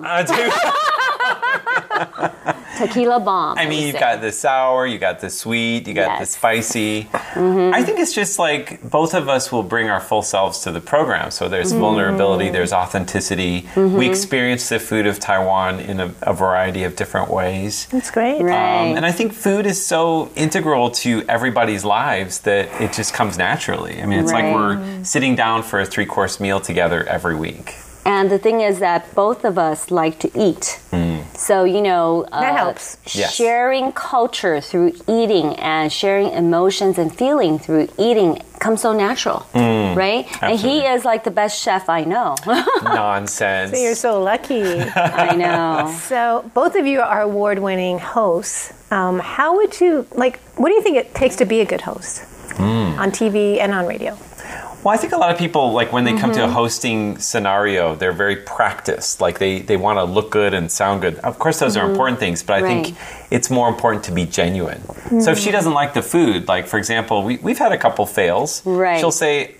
[SPEAKER 4] Tequila bomb.
[SPEAKER 1] I mean, you've got the sour, you got the sweet, you got the spicy. I think it's just like both of us will bring our full selves to the program. So there's vulnerability, there's authenticity. We experience the food of Taiwan in a variety of different ways.
[SPEAKER 2] That's great.
[SPEAKER 4] Right.
[SPEAKER 1] And I think food is so integral to everybody's lives that it just comes naturally. I mean, it's like we're sitting down for a 3-course meal together every week.
[SPEAKER 4] And the thing is that both of us like to eat. So, you know,
[SPEAKER 2] That helps.
[SPEAKER 1] Yes.
[SPEAKER 4] sharing culture through eating and sharing emotions and feeling through eating comes so natural, right? And he is like the best chef I know.
[SPEAKER 1] Nonsense.
[SPEAKER 2] You're so lucky.
[SPEAKER 4] I know.
[SPEAKER 2] So, both of you are award-winning hosts. How would you what do you think it takes to be a good host on TV and on radio?
[SPEAKER 1] Well, I think a lot of people, like when they come to a hosting scenario, they're very practiced. Like they want to look good and sound good. Of course, those are important things, but I think it's more important to be genuine. So if she doesn't like the food, like for example, we've had a couple fails.
[SPEAKER 4] Right.
[SPEAKER 1] She'll say,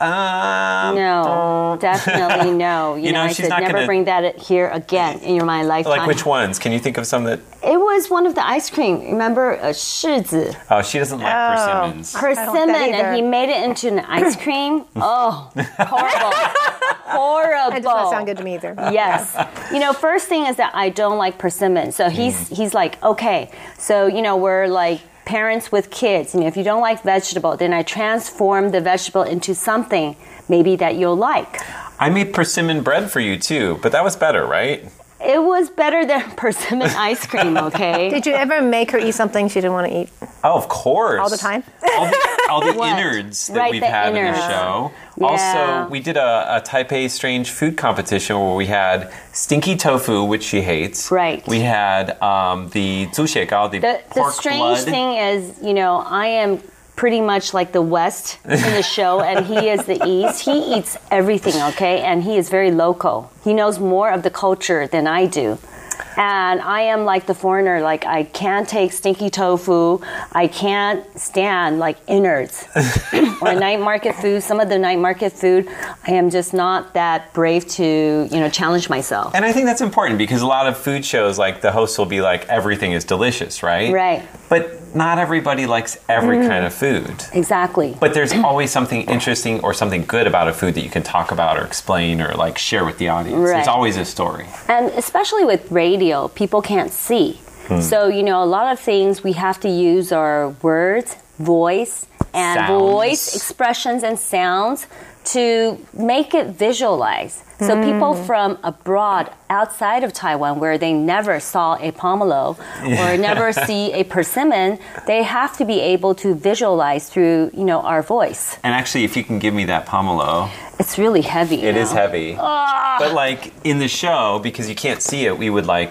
[SPEAKER 4] No, definitely no. You know, I
[SPEAKER 1] she's
[SPEAKER 4] said
[SPEAKER 1] not
[SPEAKER 4] never
[SPEAKER 1] gonna-
[SPEAKER 4] bring that here again in my lifetime.
[SPEAKER 1] like which ones? Can you think of some that?
[SPEAKER 4] It was one of the ice cream. Remember, 柿子.
[SPEAKER 1] Oh, she doesn't like persimmons.
[SPEAKER 4] Persimmon,
[SPEAKER 2] either.
[SPEAKER 4] and he made it into an ice cream. Oh, horrible. Horrible.
[SPEAKER 2] That does not sound good to me either.
[SPEAKER 4] Yes. You know, first thing is that I don't like persimmon. So he's like, okay. So, you know, we're like parents with kids. You know, if you don't like vegetable, then I transform the vegetable into something maybe that you'll like.
[SPEAKER 1] I made persimmon bread for you too, but that was better, right?
[SPEAKER 4] It was better than persimmon ice cream, okay?
[SPEAKER 2] Did you ever make her eat something she didn't want to eat
[SPEAKER 1] Oh, of course.
[SPEAKER 2] all the time?
[SPEAKER 1] all the
[SPEAKER 4] What?
[SPEAKER 1] innards that
[SPEAKER 4] Right,
[SPEAKER 1] we've
[SPEAKER 4] the
[SPEAKER 1] had in the
[SPEAKER 4] innards.
[SPEAKER 1] show.
[SPEAKER 4] Yeah.
[SPEAKER 1] Also, we did a Taipei Strange Food competition where we had stinky tofu, which she hates.
[SPEAKER 4] Right.
[SPEAKER 1] We had the zuxiegao, the
[SPEAKER 4] The
[SPEAKER 1] pork
[SPEAKER 4] strange
[SPEAKER 1] blood.
[SPEAKER 4] thing is, you know, I am pretty much like the West in the show, and he is the East. He eats everything, okay? And he is very local. He knows more of the culture than I do. And I am like the foreigner, like I can't take stinky tofu. I can't stand like innards or night market food. Some of the night market food, I am just not that brave to, you know, challenge myself.
[SPEAKER 1] And I think that's important because a lot of food shows, like the hosts will be like, everything is delicious, right?
[SPEAKER 4] Right.
[SPEAKER 1] But not everybody likes every kind of food.
[SPEAKER 4] Exactly.
[SPEAKER 1] But there's always something interesting or something good about a food that you can talk about or explain or like share with the audience.
[SPEAKER 4] Right.
[SPEAKER 1] There's always a story.
[SPEAKER 4] And especially with radio, people can't see. So, you know, a lot of things we have to use our words, voice, and
[SPEAKER 1] Sounds.
[SPEAKER 4] voice expressions and sounds to make it visualize. So people from abroad, outside of Taiwan, where they never saw a pomelo or never see a persimmon, they have to be able to visualize through, you know, our voice.
[SPEAKER 1] And actually, if you can give me that pomelo,
[SPEAKER 4] It's really heavy.
[SPEAKER 1] it is heavy. But like in the show, because you can't see it, we would like,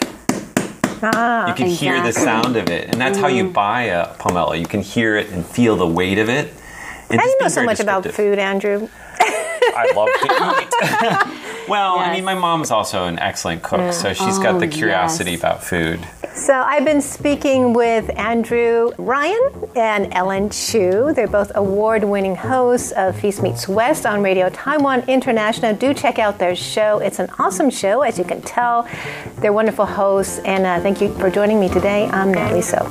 [SPEAKER 1] you can hear the
[SPEAKER 4] Exactly.
[SPEAKER 1] sound of it. And that's how you buy a pomelo. You can hear it and feel the weight of it. And
[SPEAKER 2] How do
[SPEAKER 1] just
[SPEAKER 2] you know
[SPEAKER 1] be
[SPEAKER 2] so
[SPEAKER 1] very
[SPEAKER 2] much about
[SPEAKER 1] descriptive.
[SPEAKER 2] food, Andrew?
[SPEAKER 1] I love to eat. Well, I
[SPEAKER 4] Yes.
[SPEAKER 1] mean, my mom's also an excellent cook, so she's got the curiosity
[SPEAKER 4] yes.
[SPEAKER 1] about food.
[SPEAKER 2] So I've been speaking with Andrew Ryan and Ellen Chu. They're both award-winning hosts of Feast Meets West on Radio Taiwan International. Do check out their show. It's an awesome show, as you can tell. They're wonderful hosts, and thank you for joining me today. I'm Natalie So.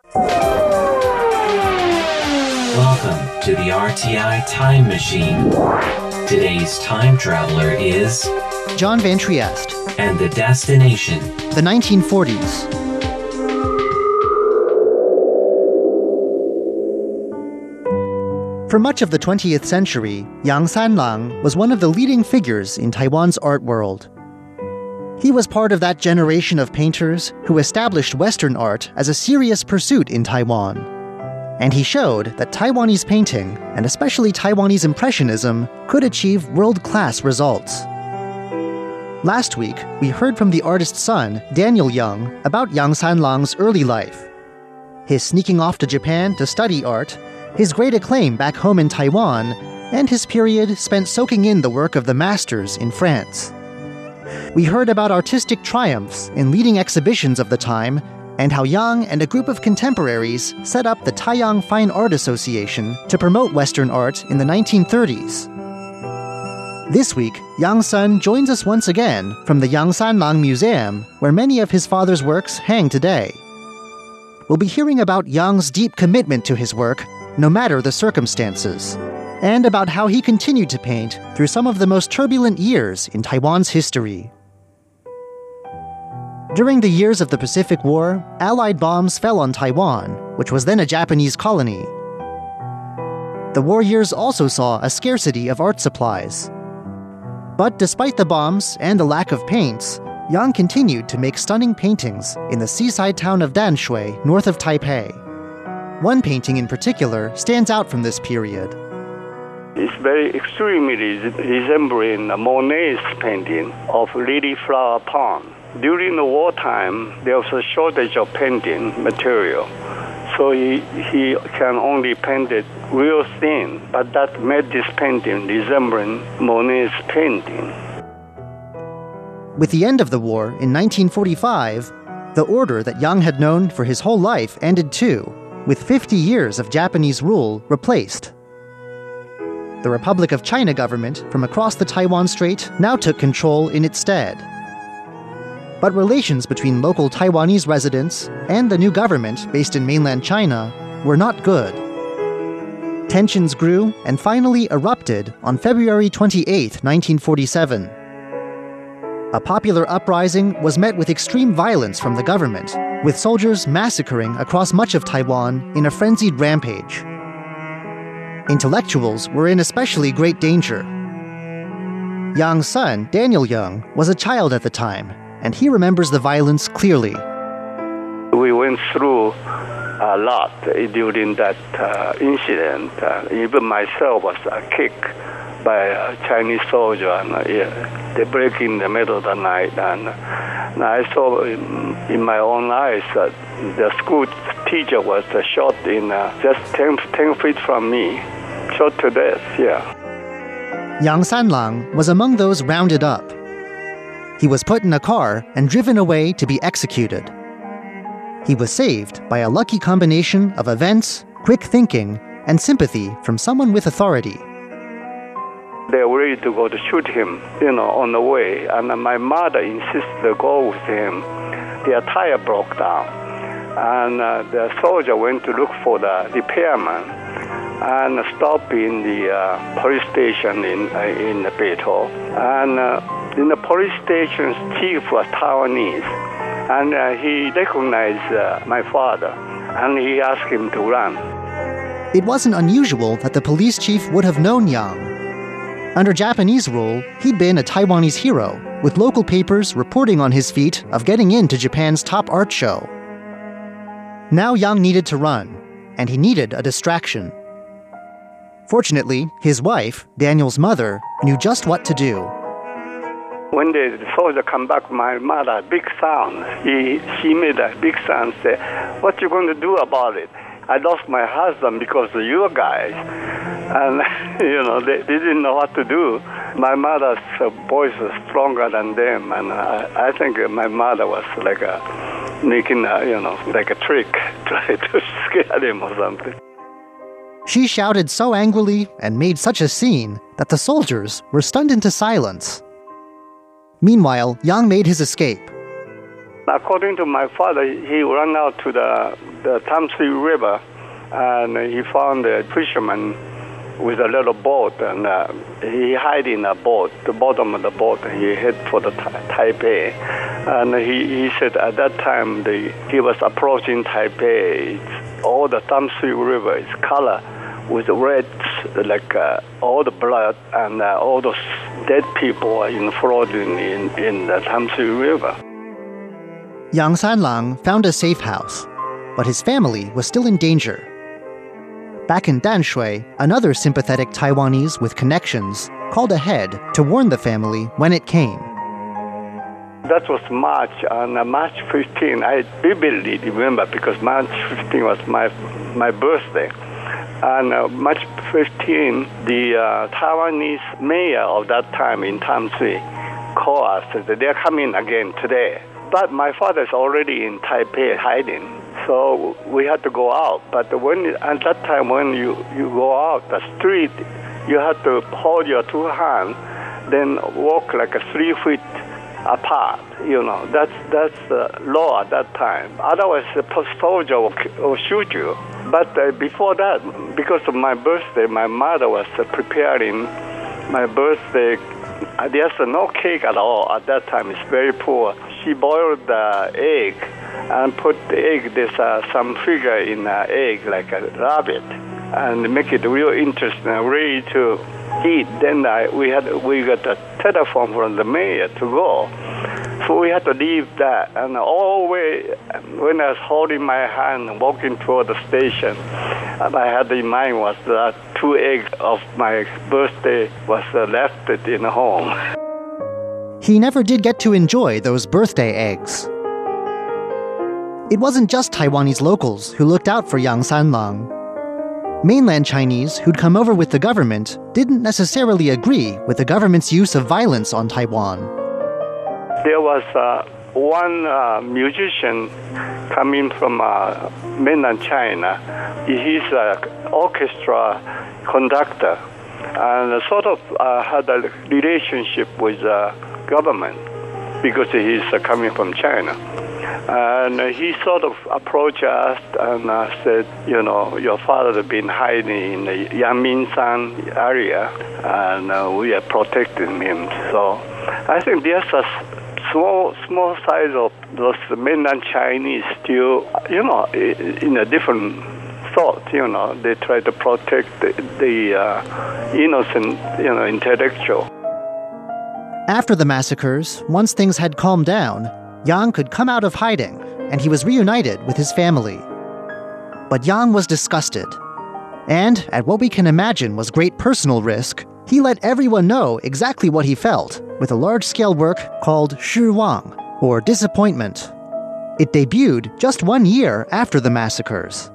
[SPEAKER 7] Welcome to the RTI Time Machine. Today's time traveler is
[SPEAKER 3] John Van Trieste.
[SPEAKER 7] And the destination,
[SPEAKER 3] The 1940s. For much of the 20th century, Yang Sanlang was one of the leading figures in Taiwan's art world. He was part of that generation of painters who established Western art as a serious pursuit in Taiwan. And he showed that Taiwanese painting, and especially Taiwanese Impressionism, could achieve world-class results. Last week, we heard from the artist's son, Daniel Young, about Yang Sanlang's early life. His sneaking off to Japan to study art, his great acclaim back home in Taiwan, and his period spent soaking in the work of the masters in France. We heard about artistic triumphs in leading exhibitions of the time, and how Yang and a group of contemporaries set up the Taiyang Fine Art Association to promote Western art in the 1930s. This week, Yang's son joins us once again from the Yang Sanlang Museum, where many of his father's works hang today. We'll be hearing about Yang's deep commitment to his work, no matter the circumstances, and about how he continued to paint through some of the most turbulent years in Taiwan's history. During the years of the Pacific War, Allied bombs fell on Taiwan, which was then a Japanese colony. The war years also saw a scarcity of art supplies. But despite the bombs and the lack of paints, Yang continued to make stunning paintings in the seaside town of Danshui, north of Taipei. One painting in particular stands out from this period.
[SPEAKER 8] It's very extremely resembling Monet's painting of Lily Flower Pond. During the wartime, there was a shortage of painting material, so he can only paint it real thin, but that made this painting resembling Monet's painting.
[SPEAKER 3] With the end of the war in 1945, the order that Yang had known for his whole life ended too, with 50 years of Japanese rule replaced. The Republic of China government from across the Taiwan Strait now took control in its stead. But relations between local Taiwanese residents and the new government based in mainland China were not good. Tensions grew and finally erupted on February 28, 1947. A popular uprising was met with extreme violence from the government, with soldiers massacring across much of Taiwan in a frenzied rampage. Intellectuals were in especially great danger. Yang's son, Daniel Young, was a child at the time, and he remembers the violence clearly.
[SPEAKER 8] We went through a lot during that incident. Even myself was kicked by a Chinese soldier, and they break in the middle of the night. And I saw in my own eyes that the school teacher was shot in just 10 feet from me, shot to death, yeah.
[SPEAKER 3] Yang Sanlang was among those rounded up. He was put in a car and driven away to be executed. He was saved by a lucky combination of events, quick thinking, and sympathy from someone with authority.
[SPEAKER 8] They were ready to go to shoot him, on the way. And my mother insisted to go with him. Their tire broke down. And the soldier went to look for the repairman and stopped in the police station in Beito. And in the police station's chief was Taiwanese. And he recognized my father. And he asked him to run.
[SPEAKER 3] It wasn't unusual that the police chief would have known Yang. Under Japanese rule, he'd been a Taiwanese hero, with local papers reporting on his feat of getting into Japan's top art show. Now Yang needed to run, and he needed a distraction. Fortunately, his wife, Daniel's mother, knew just what to do.
[SPEAKER 8] When the soldier come back, my mother, big sound. She made a big sound, say, "What you going to do about it? I lost my husband because of you guys." And, they didn't know what to do. My mother's voice was stronger than them. And I think my mother was like making like a trick, try to scare them or something.
[SPEAKER 3] She shouted so angrily and made such a scene that the soldiers were stunned into silence. Meanwhile, Yang made his escape.
[SPEAKER 8] According to my father, he ran out to the Tamsui River, and he found a fisherman with a little boat, and he hid in a boat, the bottom of the boat, and he head for the Taipei. And he said at that time he was approaching Taipei. All the Tamsui River is color with red, like all the blood, and all those dead people are floating in the Tamsui River.
[SPEAKER 3] Yang Sanlang found a safe house, but his family was still in danger. Back in Danshui, another sympathetic Taiwanese with connections called ahead to warn the family when it came.
[SPEAKER 8] That was March, on March 15. I vividly remember because March 15 was my birthday. And March 15, the Taiwanese mayor of that time in Tamsui called us and said, they're coming again today. But my father's already in Taipei hiding, so we had to go out. But at that time, when you go out the street, you have to hold your two hands, then walk like 3 feet apart. That's the law at that time. Otherwise, the soldier will shoot you. But before that, because of my birthday, my mother was preparing my birthday. There's no cake at all at that time. It's very poor. She boiled the egg and put the egg. There's some figure in the egg, like a rabbit, and make it real interesting, ready to eat. Then we got a telephone from the mayor to go. So we had to leave that. And all the way, when I was holding my hand and walking toward the station, I had in mind was that 2 eggs of my birthday was left in home.
[SPEAKER 3] He never did get to enjoy those birthday eggs. It wasn't just Taiwanese locals who looked out for Yang Sanlang. Mainland Chinese who'd come over with the government didn't necessarily agree with the government's use of violence on Taiwan.
[SPEAKER 8] There was one musician coming from mainland China. He's an orchestra conductor and sort of had a relationship with the government because he's coming from China. And he sort of approached us and said, your father has been hiding in the Yanmingshan area, and we are protecting him. So I think there's a small size of those mainland Chinese still, in a different thought. They try to protect the innocent, intellectual.
[SPEAKER 3] After the massacres, once things had calmed down, Yang could come out of hiding, and he was reunited with his family. But Yang was disgusted. And, at what we can imagine was great personal risk, he let everyone know exactly what he felt with a large-scale work called Shi Wang, or Disappointment. It debuted just 1 year after the massacres.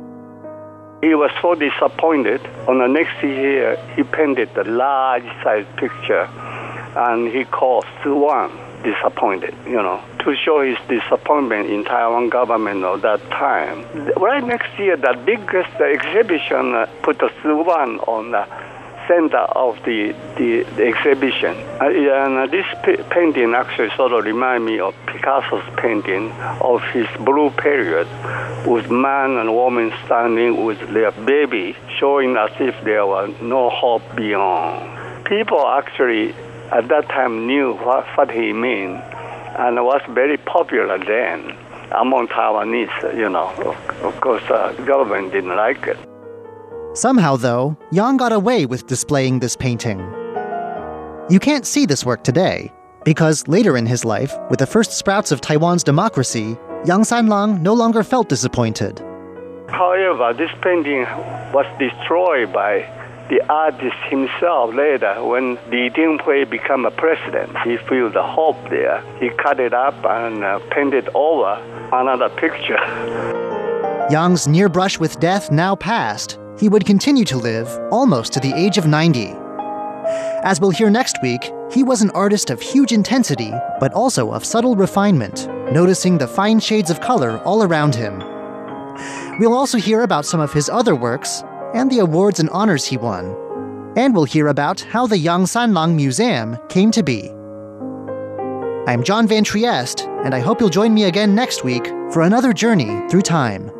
[SPEAKER 8] He was so disappointed. On the next year, he painted a large-sized picture, and he called Shi Wang Disappointed, to show his disappointment in Taiwan government of that time. Right next year, the biggest exhibition put the Shi Wang on the center of the exhibition. And this painting actually sort of reminds me of Picasso's painting of his blue period, with man and woman standing with their baby, showing as if there was no hope beyond. People actually at that time knew what he meant, and was very popular then among Taiwanese, Of course, the government didn't like it.
[SPEAKER 3] Somehow, though, Yang got away with displaying this painting. You can't see this work today, because later in his life, with the first sprouts of Taiwan's democracy, Yang Sanlang no longer felt disappointed.
[SPEAKER 8] However, this painting was destroyed by the artist himself later when Li Dinghui became a president. He felt the hope there. He cut it up and painted over another picture.
[SPEAKER 3] Yang's near brush with death now past, he would continue to live almost to the age of 90. As we'll hear next week, he was an artist of huge intensity, but also of subtle refinement, noticing the fine shades of color all around him. We'll also hear about some of his other works, and the awards and honors he won. And we'll hear about how the Yang Sanlang Museum came to be. I'm John Van Trieste, and I hope you'll join me again next week for another journey through time.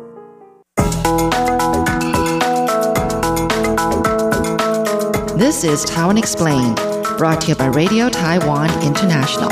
[SPEAKER 9] This is Taiwan Explained, brought to you by Radio Taiwan International.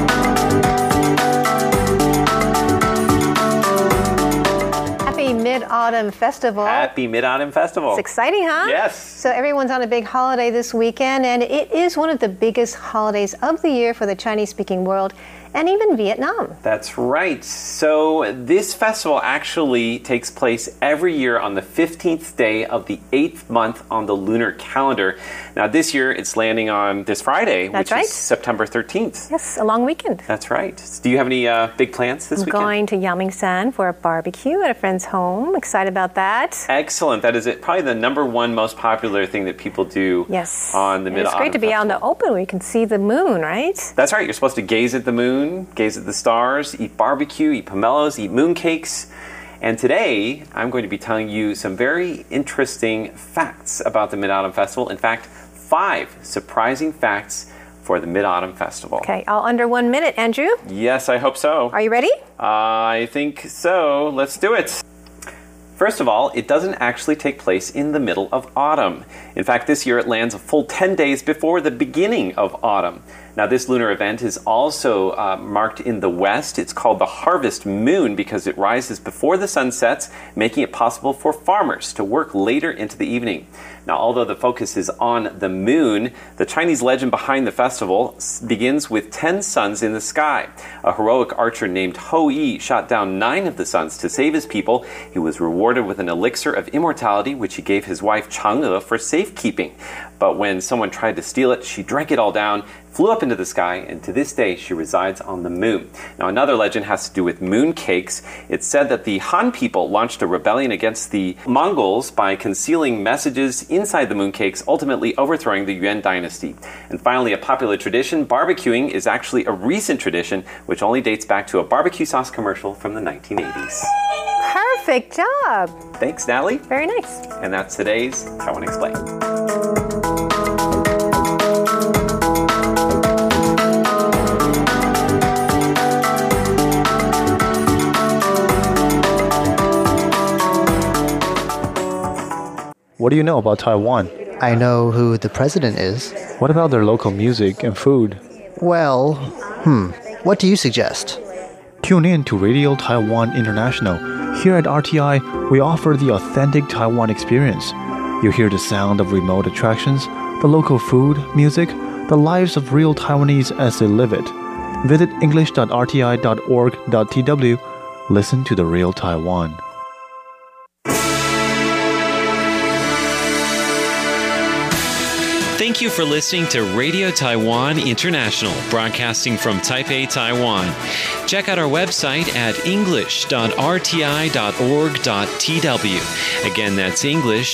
[SPEAKER 2] Happy Mid-Autumn Festival.
[SPEAKER 1] Happy Mid-Autumn Festival.
[SPEAKER 2] It's exciting, huh?
[SPEAKER 1] Yes.
[SPEAKER 2] So everyone's on a big holiday this weekend, and it is one of the biggest holidays of the year for the Chinese-speaking world, and even Vietnam.
[SPEAKER 1] That's right. So this festival actually takes place every year on the 15th day of the 8th month on the lunar calendar. Now this year it's landing on this Friday,
[SPEAKER 2] That's
[SPEAKER 1] which
[SPEAKER 2] right.
[SPEAKER 1] is September 13th.
[SPEAKER 2] Yes, a long weekend.
[SPEAKER 1] That's right. Do you have any big plans this
[SPEAKER 2] I'm
[SPEAKER 1] weekend?
[SPEAKER 2] going to Yangmingshan for a barbecue at a friend's home. Excited about that.
[SPEAKER 1] Excellent. That is probably the number one most popular thing that people do
[SPEAKER 2] Yes.
[SPEAKER 1] on the
[SPEAKER 2] And
[SPEAKER 1] Mid-Autumn
[SPEAKER 2] it's great to be out in the open where you can see the moon, right?
[SPEAKER 1] That's right. You're supposed to gaze at the moon, gaze at the stars, eat barbecue, eat pomelos, eat mooncakes. And today, I'm going to be telling you some very interesting facts about the Mid-Autumn Festival. In fact, 5 surprising facts for the Mid-Autumn Festival.
[SPEAKER 2] Okay, all under 1 minute, Andrew.
[SPEAKER 1] Yes, I hope so.
[SPEAKER 2] Are you ready?
[SPEAKER 1] I think so. Let's do it. First of all, it doesn't actually take place in the middle of autumn. In fact, this year it lands a full 10 days before the beginning of autumn. Now, this lunar event is also marked in the west. It's called the harvest moon because it rises before the sun sets, making it possible for farmers to work later into the evening. Now, although the focus is on the moon, the Chinese legend behind the festival begins with 10 suns in the sky. A heroic archer named Hou Yi shot down 9 of the suns to save his people. He was rewarded with an elixir of immortality, which he gave his wife Chang'e for safekeeping. But when someone tried to steal it, she drank it all down, flew up into the sky, and to this day she resides on the moon. Now, another legend has to do with moon cakes. It's said that the Han people launched a rebellion against the Mongols by concealing messages inside the moon cakes, ultimately overthrowing the Yuan dynasty. And finally, a popular tradition, barbecuing, is actually a recent tradition which only dates back to a barbecue sauce commercial from the 1980s.
[SPEAKER 2] Perfect job.
[SPEAKER 1] Thanks, Natalie.
[SPEAKER 2] Very nice.
[SPEAKER 1] And that's today's Taiwan Explained.
[SPEAKER 10] What do you know about Taiwan?
[SPEAKER 3] I know who the president is.
[SPEAKER 10] What about their local music and food?
[SPEAKER 3] Well, what do you suggest?
[SPEAKER 10] Tune in to Radio Taiwan International. Here at RTI, we offer the authentic Taiwan experience. You hear the sound of remote attractions, the local food, music, the lives of real Taiwanese as they live it. Visit english.rti.org.tw. Listen to the real Taiwan.
[SPEAKER 11] Thank you for listening to Radio Taiwan International, broadcasting from Taipei, Taiwan. Check out our website at english.rti.org.tw. Again, that's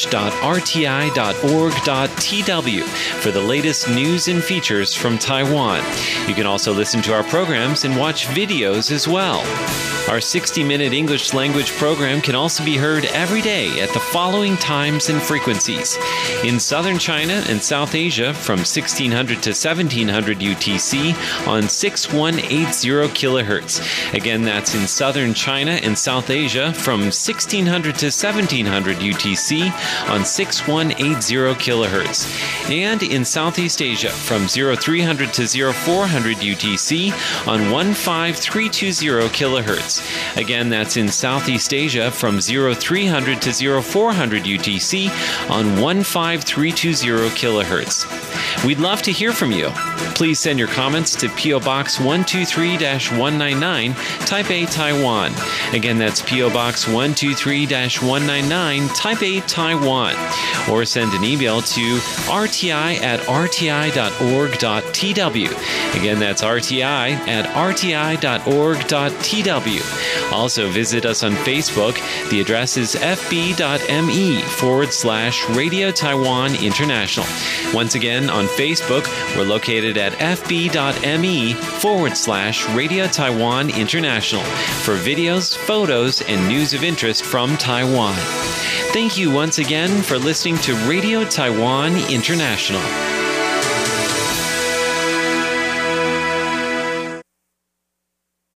[SPEAKER 11] english.rti.org.tw for the latest news and features from Taiwan. You can also listen to our programs and watch videos as well. Our 60-minute English language program can also be heard every day at the following times and frequencies. In southern China and South Asia from 1600 to 1700 UTC on 6180 kilohertz. Again, that's in southern China and South Asia from 1600 to 1700 UTC on 6180 kilohertz. And in Southeast Asia from 0300 to 0400 UTC on 15320 kilohertz. Again, that's in Southeast Asia from 0300 to 0400 UTC on 15320 kilohertz. We'd love to hear from you. Please send your comments to P.O. Box 123-199, Taipei, Taiwan. Again, that's P.O. Box 123-199, Taipei, Taiwan. Or send an email to rti@rti.org.tw. Again, that's rti@rti.org.tw. Also, visit us on Facebook. The address is fb.me/Radio Taiwan International. Once again, on Facebook, we're located at fb.me/Radio Taiwan International for videos, photos, and news of interest from Taiwan. Thank you once again for listening to Radio Taiwan International.